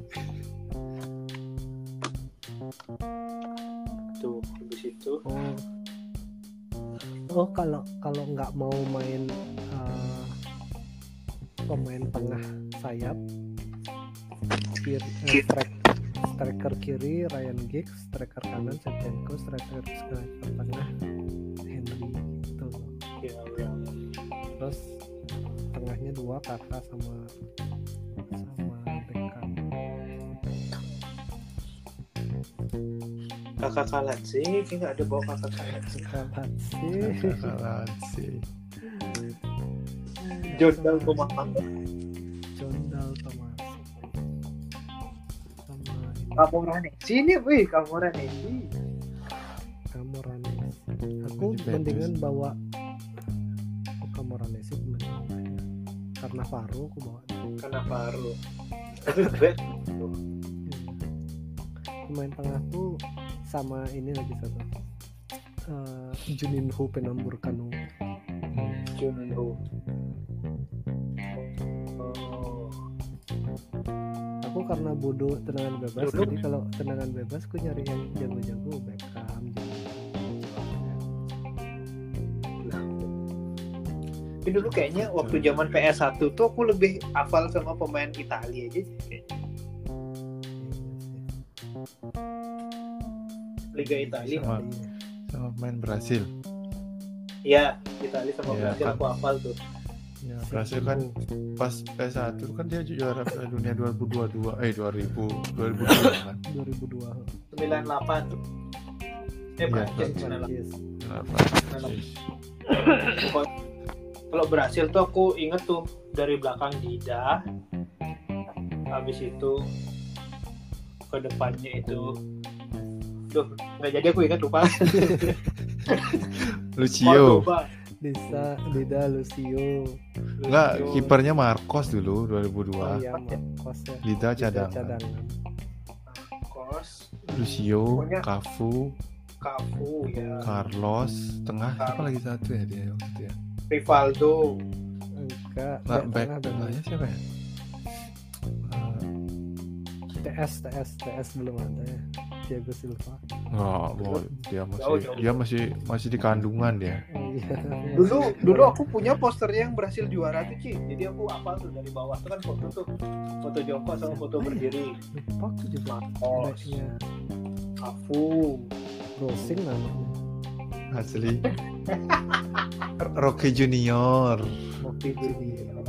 Tuh, habis itu Oh, oh kalau kalau nggak mau main eh, pemain tengah sayap, kiri, eh, strike, striker kiri Ryan Giggs, striker kanan Shevchenko, striker striker tengah Henry gitu. ya, ya. Terus tengahnya dua kakak sama sama Beckham. Kakak kalat sih, kayak nggak ada bawa kakak kalat sih. Kalah sih. Kakalan sih. Jordal Pemahaman. Jondal Thomas sama ini Kamorane. Sini, wih, Kamorane. Camoranesi. Aku Juventus. mendingan bawa Camoranesi sih pemain tengahnya. Karena Faro aku bawa. Karena baru. Tapi gue Pemain tengah tuh sama ini lagi satu. Uh, Juninho Penamburkanu. Junho. Oh. Aku karena bodoh tendangan bebas, Dulu. jadi kalau tendangan bebas aku nyari yang jago-jago, Beckham, Tapi dulu kayaknya waktu zaman P S satu tuh aku lebih hafal sama pemain Italia aja kayaknya. Liga Italia. Sama, sama main Brasil. Iya, Italia sama Iya, Brasil kan. aku hafal tuh. Ya, Brasil kan pas P S satu kan dia juara Piala Dunia dua ribu dua puluh dua, eh dua ribu dua ribu dua kan. dua ribu dua. sembilan puluh delapan tuh. Eh, Iya, Prancis Prancis. sembilan puluh delapan. Yes. Kenapa? Kalau Brasil tuh aku inget tuh dari belakang Dida, habis itu ke depannya itu, duh nggak jadi aku ingat lupa. Lucio. Cordoba. Disa, Dida, Lucio. Enggak, Lucio. kipernya Marcos dulu dua ribu Oh dua. iya, Marcos ya. Lida Dida cadangan. cadangan. Marcos, Lucio, Pokoknya- Cafu, Cafu ya, Carlos, tengah siapa lagi satu ya dia waktu itu ya? Rivaldo, Enggak, Nah, back back tengah tengahnya siapa ya? Eh, T S, T S, T S belum ada ya. Thiago Silva. Enggak, oh, dia Jauh, masih jauh. dia masih masih di kandungan dia. Oh iya. dulu dulu aku punya posternya yang berhasil juara tuh Ci, jadi aku hafal tuh dari bawah tuh kan foto tuh, foto Joko sama foto berdiri. Lupa aku juga. Marcos, Backnya Cafu, Rosing namanya. Asli. Rocky Junior. Moki Junior,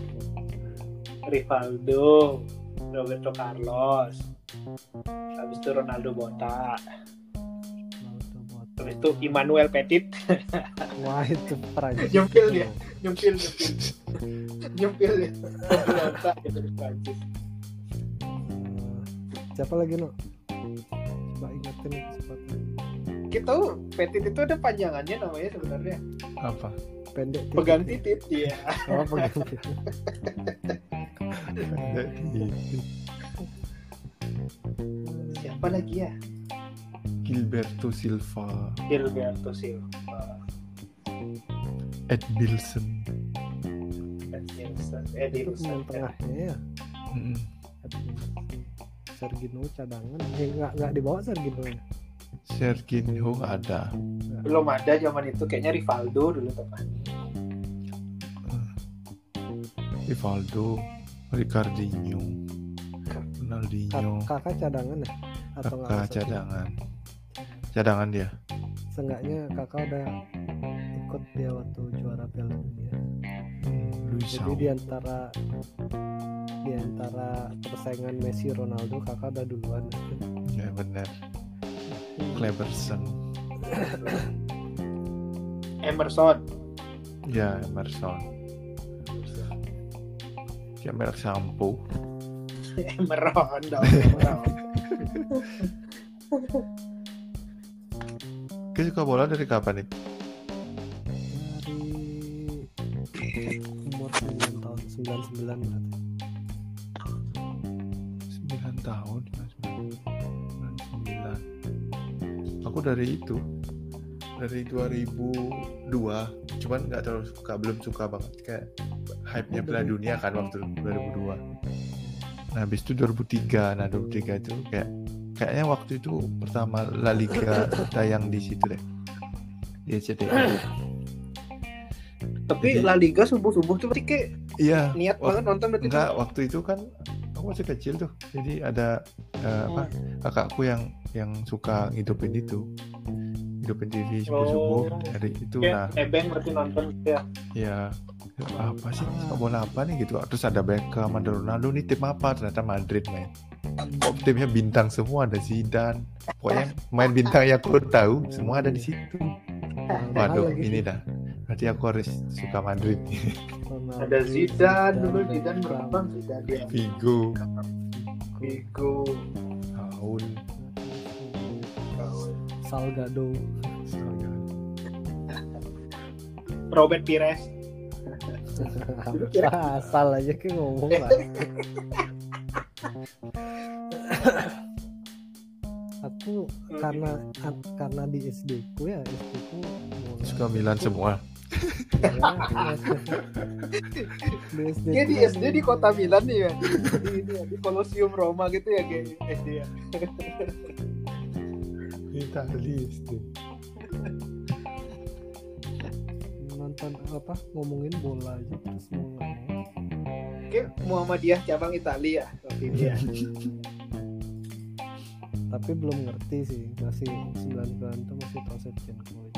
Rivaldo, Roberto Carlos, habis itu Ronaldo Botak, Ronaldo Botak. habis itu Emmanuel Petit, Wah itu Prancis. Nyempil dia. nyempil nyempil nyempil ya, Botak dari Prancis. Eh, siapa lagi no? Coba ingetin sepatu. Kita tahu Petit itu ada panjangannya namanya sebenarnya Apa? Pendek. titik. pegang titit dia. Oh pegang titik. Siapa lagi ya? Gilberto Silva, Gilberto Silva, Ed Bilson. Edilson, Itu Edilson. pemain tengahnya ya. Mm-mm. Sergino cadangan. Eh nggak nggak dibawa Sergino ya. Serginho nggak ada. Belum ada zaman itu, kayaknya Rivaldo dulu teman. Rivaldo, Ricardinho, Kak- Ronaldinho, Kakak cadangan ya? Atau nggak kakak masuk? cadangan. Cadangan dia. Seenggaknya kakak udah ikut dia waktu juara Piala Dunia. Luis Jadi Saul. di antara di antara persaingan Messi Ronaldo kakak udah duluan. Ya benar. Cleberson. Emerson. Ya Emerson. Ya merek sampo. Emeron dong. Emeron. Kau suka bola dari kapan nih? Dari umur sembilan tahun, sembilan puluh sembilan berarti. sembilan tahun. sembilan sembilan. Aku dari itu. Dari dua ribu dua. Cuman nggak terlalu suka, belum suka banget kayak hype-nya Piala Dunia kan waktu dua ribu dua. Nah, habis itu dua ribu tiga. Nah, dua ribu tiga itu kayak kayaknya waktu itu pertama La Liga tayang di situ deh. Di C T I. Tapi Jadi- La Liga subuh-subuh tuh berarti kayak Iya. niat Wak- banget nonton berarti. Enggak, waktu itu kan aku masih kecil tuh. Jadi ada eh, apa kakakku yang yang suka ngidupin itu. Hidupin T V subuh-subuh Oh. dari itu. Nah, Kayak ebeng berarti nonton ya. ya apa sih sepak bola apa nih gitu. Terus ada Beckham, ada Ronaldo, nih tim apa? Ternyata Madrid main. Kok timnya bintang semua, ada Zidane. Pokoknya main bintang yang aku tahu semua ada di situ. Waduh, Lagi ini sih. dah. Berarti aku harus suka Madrid. Ronaldo, Ada Zidane dulu, Beckham, Zidane berkembang Zidane dia. Vigo, Figo, Raul, Salgado. Robert Pires. Dulu kira asal aja kayak ngomong lah. Aku karena karena di S D ku ya S D ku Suka Milan semua. di S D dia ku di kan S D di kota Milan nih ya, di, di, ini ya, di Colosseum Roma gitu ya kayak S D ya. Itali S D. nonton apa ngomongin bola aja terus mau nggak mau. Kayak Muhammadiyah cabang Italia waktu itu ya. Tapi belum ngerti sih, masih sembilan sembilan itu masih tahu Shevchenko aja.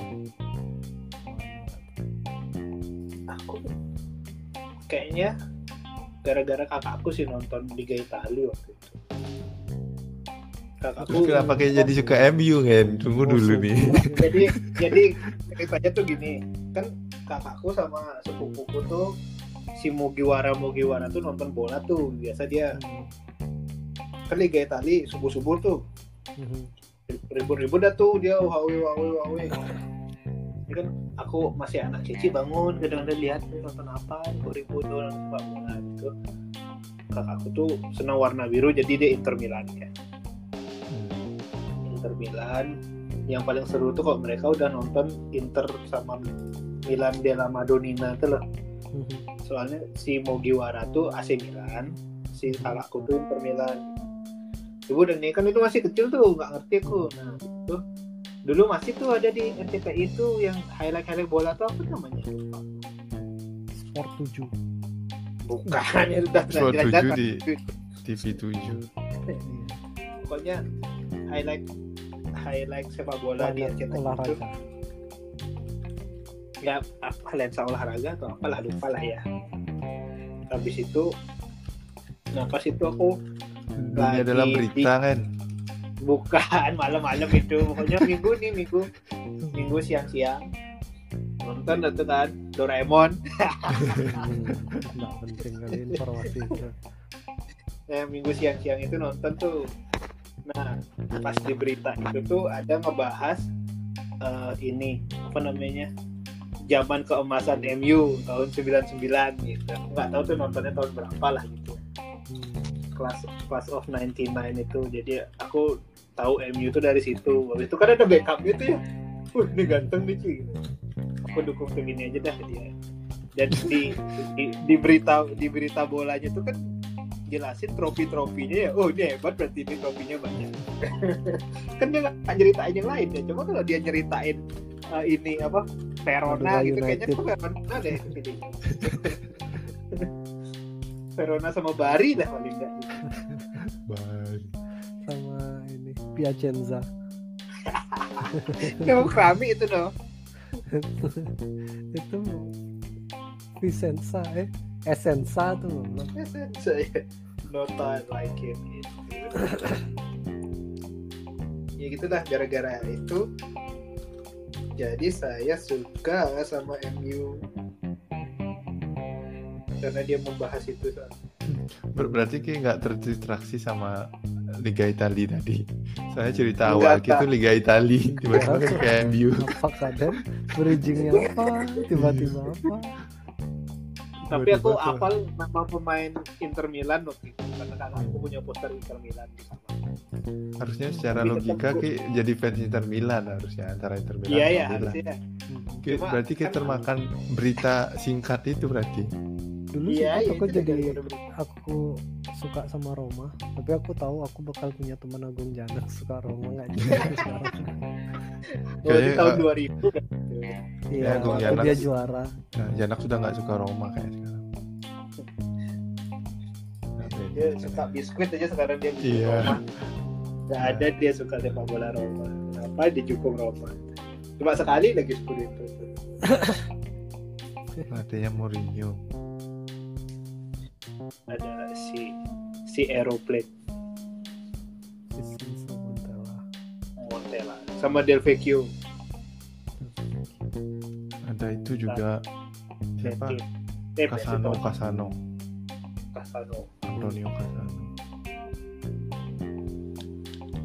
Aku kayaknya gara-gara kakakku sih nonton Liga Italia waktu itu. Kakakku Terus kenapa kayak jadi suka M U kan? Tunggu dulu nih. jadi jadi ceritanya tuh gini, kan kakakku sama sepupuku tuh si Mugiwara Mugiwara tuh nonton bola tuh biasa dia kan Liga Italia subuh-subuh tuh ribut-ribut dah tuh dia wawe wawe wawe. Ini kan aku masih anak kecil bangun kadang-kadang lihat nonton apa kok ribut orang sepak bola gitu. Kakakku tuh senang warna biru jadi dia Inter Milan kan. Inter Milan yang paling seru tuh kalau mereka udah nonton Inter sama Milan della Madonnina tuh loh. Soalnya si Mugiwara tuh A C Milan, si kakakku tuh Inter Milan. Ibu dan ini kan itu masih kecil tuh nggak ngerti aku. Nah itu dulu masih tuh ada di R C T I itu yang highlight-highlight bola tuh apa namanya? Sport tujuh. Bukan ya udah Sport jelas-jelas tujuh di kan. T V tujuh. Pokoknya highlight highlight sepak bola di R C T I itu. Olahraga. Ya apa lensa olahraga atau apalah lupa lah ya. Habis itu nah pas itu aku Dunia lagi dalam di- berita kan. bukan malam-malam itu pokoknya minggu nih minggu minggu siang-siang nonton itu kan Doraemon. Nggak penting kali informasi itu. Nah minggu siang-siang itu nonton tuh. Nah pas di berita itu tuh ada ngebahas uh, ini apa namanya zaman keemasan M U tahun sembilan puluh sembilan gitu. Nggak tahu tuh nontonnya tahun berapa lah gitu. Class Class of sembilan puluh sembilan itu. Jadi aku tahu M U itu dari situ. Habis itu kan ada backupnya tuh ya. Wah ini ganteng nih Ci. Aku dukung tim ini aja dah dia. Dan di, di di berita di berita bolanya tuh kan jelasin trofi-trofinya ya. Oh ini hebat berarti ini trofinya banyak. Kan dia nggak nyeritain yang lain ya. Coba kalau dia nyeritain uh, ini apa Verona Madura gitu kayaknya United. tuh Verona deh ini. Verona sama Bari dah paling enggak. Bye. Sama ini Piacenza. Yang kerami itu dong. Itu Vicenza eh Essenza tuh belum. Saya nota like it. Ya gitu dah gara-gara itu. Jadi saya suka sama M U karena dia membahas itu soal. Ber- Berarti kayak nggak terdistraksi sama Liga Italia tadi. Saya cerita Enggak, awal gitu Kak. Liga Italia tiba-tiba kan ke M U. Apa kadang bridgingnya apa tiba-tiba apa. Tapi aku Tiba-tiba tuh. hafal nama pemain Inter Milan waktu itu karena kakakku punya poster Inter Milan di kamar. Harusnya secara Tapi logika tetap- kayak jadi fans Inter Milan harusnya antara Inter Milan. Iya sama ya Milan. harusnya. Kayak- Cuma berarti kayak kan- termakan berita singkat itu berarti. Dulu Iya, sempat iya, aku itu jadi gara-gara berita. aku suka sama Roma, tapi aku tahu aku bakal punya teman Agung Janak suka Roma nggak juga sekarang. Oh, di Kayaknya, tahun uh, dua ribu kan. Iya, Agung waktu Janak. dia juara. Nah, Janak sudah nggak suka Roma kayak sekarang. Nah, beda. Dia suka biskuit aja sekarang dia biskuit Iya. Roma. Gak ada dia suka sepak bola Roma. Kenapa dijukung Roma? Cuma sekali lagi seperti itu. Adanya Mourinho. Ada si si Aeroplane Vicenza Montella. Montella sama Del Vecchio. Ada itu juga siapa? Eh, Casano, Casano, Casano. Antonio Casano.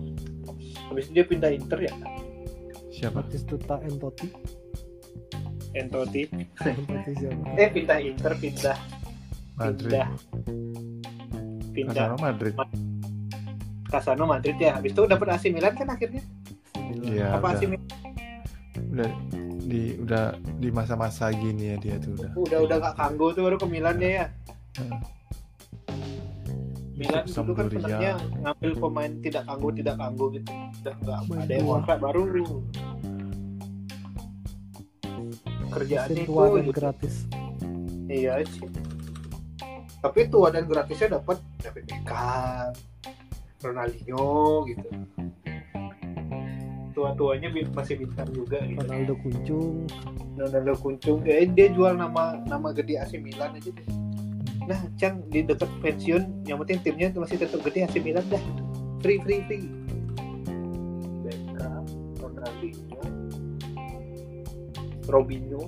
Habis itu dia pindah Inter ya? Siapa? Batistuta Entotti. Entoti. Itu siapa? Eh pindah Inter, pindah Madrid. pindah pindah Casano Madrid. Casano Madrid ya. Habis itu dapat A C Milan kan akhirnya. Iya. Apa A C Udah, Milan? udah di udah di masa-masa gini ya dia tuh udah. Udah udah gak kanggo tuh baru ke Milan dia ya. Heeh. Milan dulu kan Sampdoria. sebenarnya ngambil pemain tidak kanggo tidak kanggo gitu. Udah nggak Main ada yang tua. kontrak baru. Kerjaannya Mesin itu tua dan gitu. gratis. Iya sih. Tapi tua dan gratisnya dapat David Beckham, Ronaldinho gitu. Tua-tuanya bi- masih bintang juga gitu. Ronaldo Kuncung. Ronaldo Kuncung, eh, dia jual nama nama gede A C Milan aja deh. Nah, Cang di dekat pensiun, yang penting timnya masih tetap gede A C Milan dah. Free free free. Beckham, Ronaldinho, Robinho.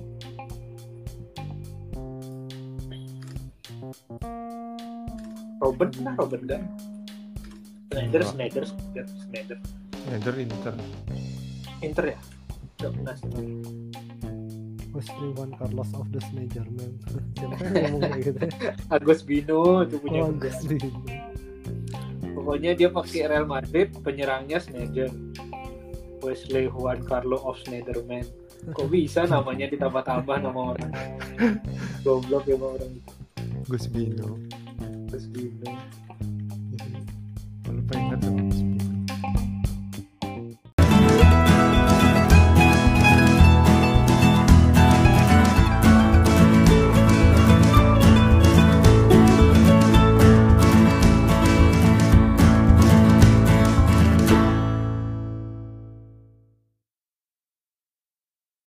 Robert nah Robert kan. Schneider, Enggak. Schneider, Schneider, Schneider. Inter Inter. Inter ya? Udah pernah sih. Wesley Juan Carlos of the Schneiderman. Siapa yang ngomong kayak gitu? Agus Bino itu punya Oh, pemain. Agus Bino. Pokoknya dia pakai Real Madrid, penyerangnya Schneider. Wesley Juan Carlo of Schneiderman. Kok bisa namanya ditambah-tambah nama orang? Goblok ya orang itu. Gus Bino. Agus Bino. Kalau pengen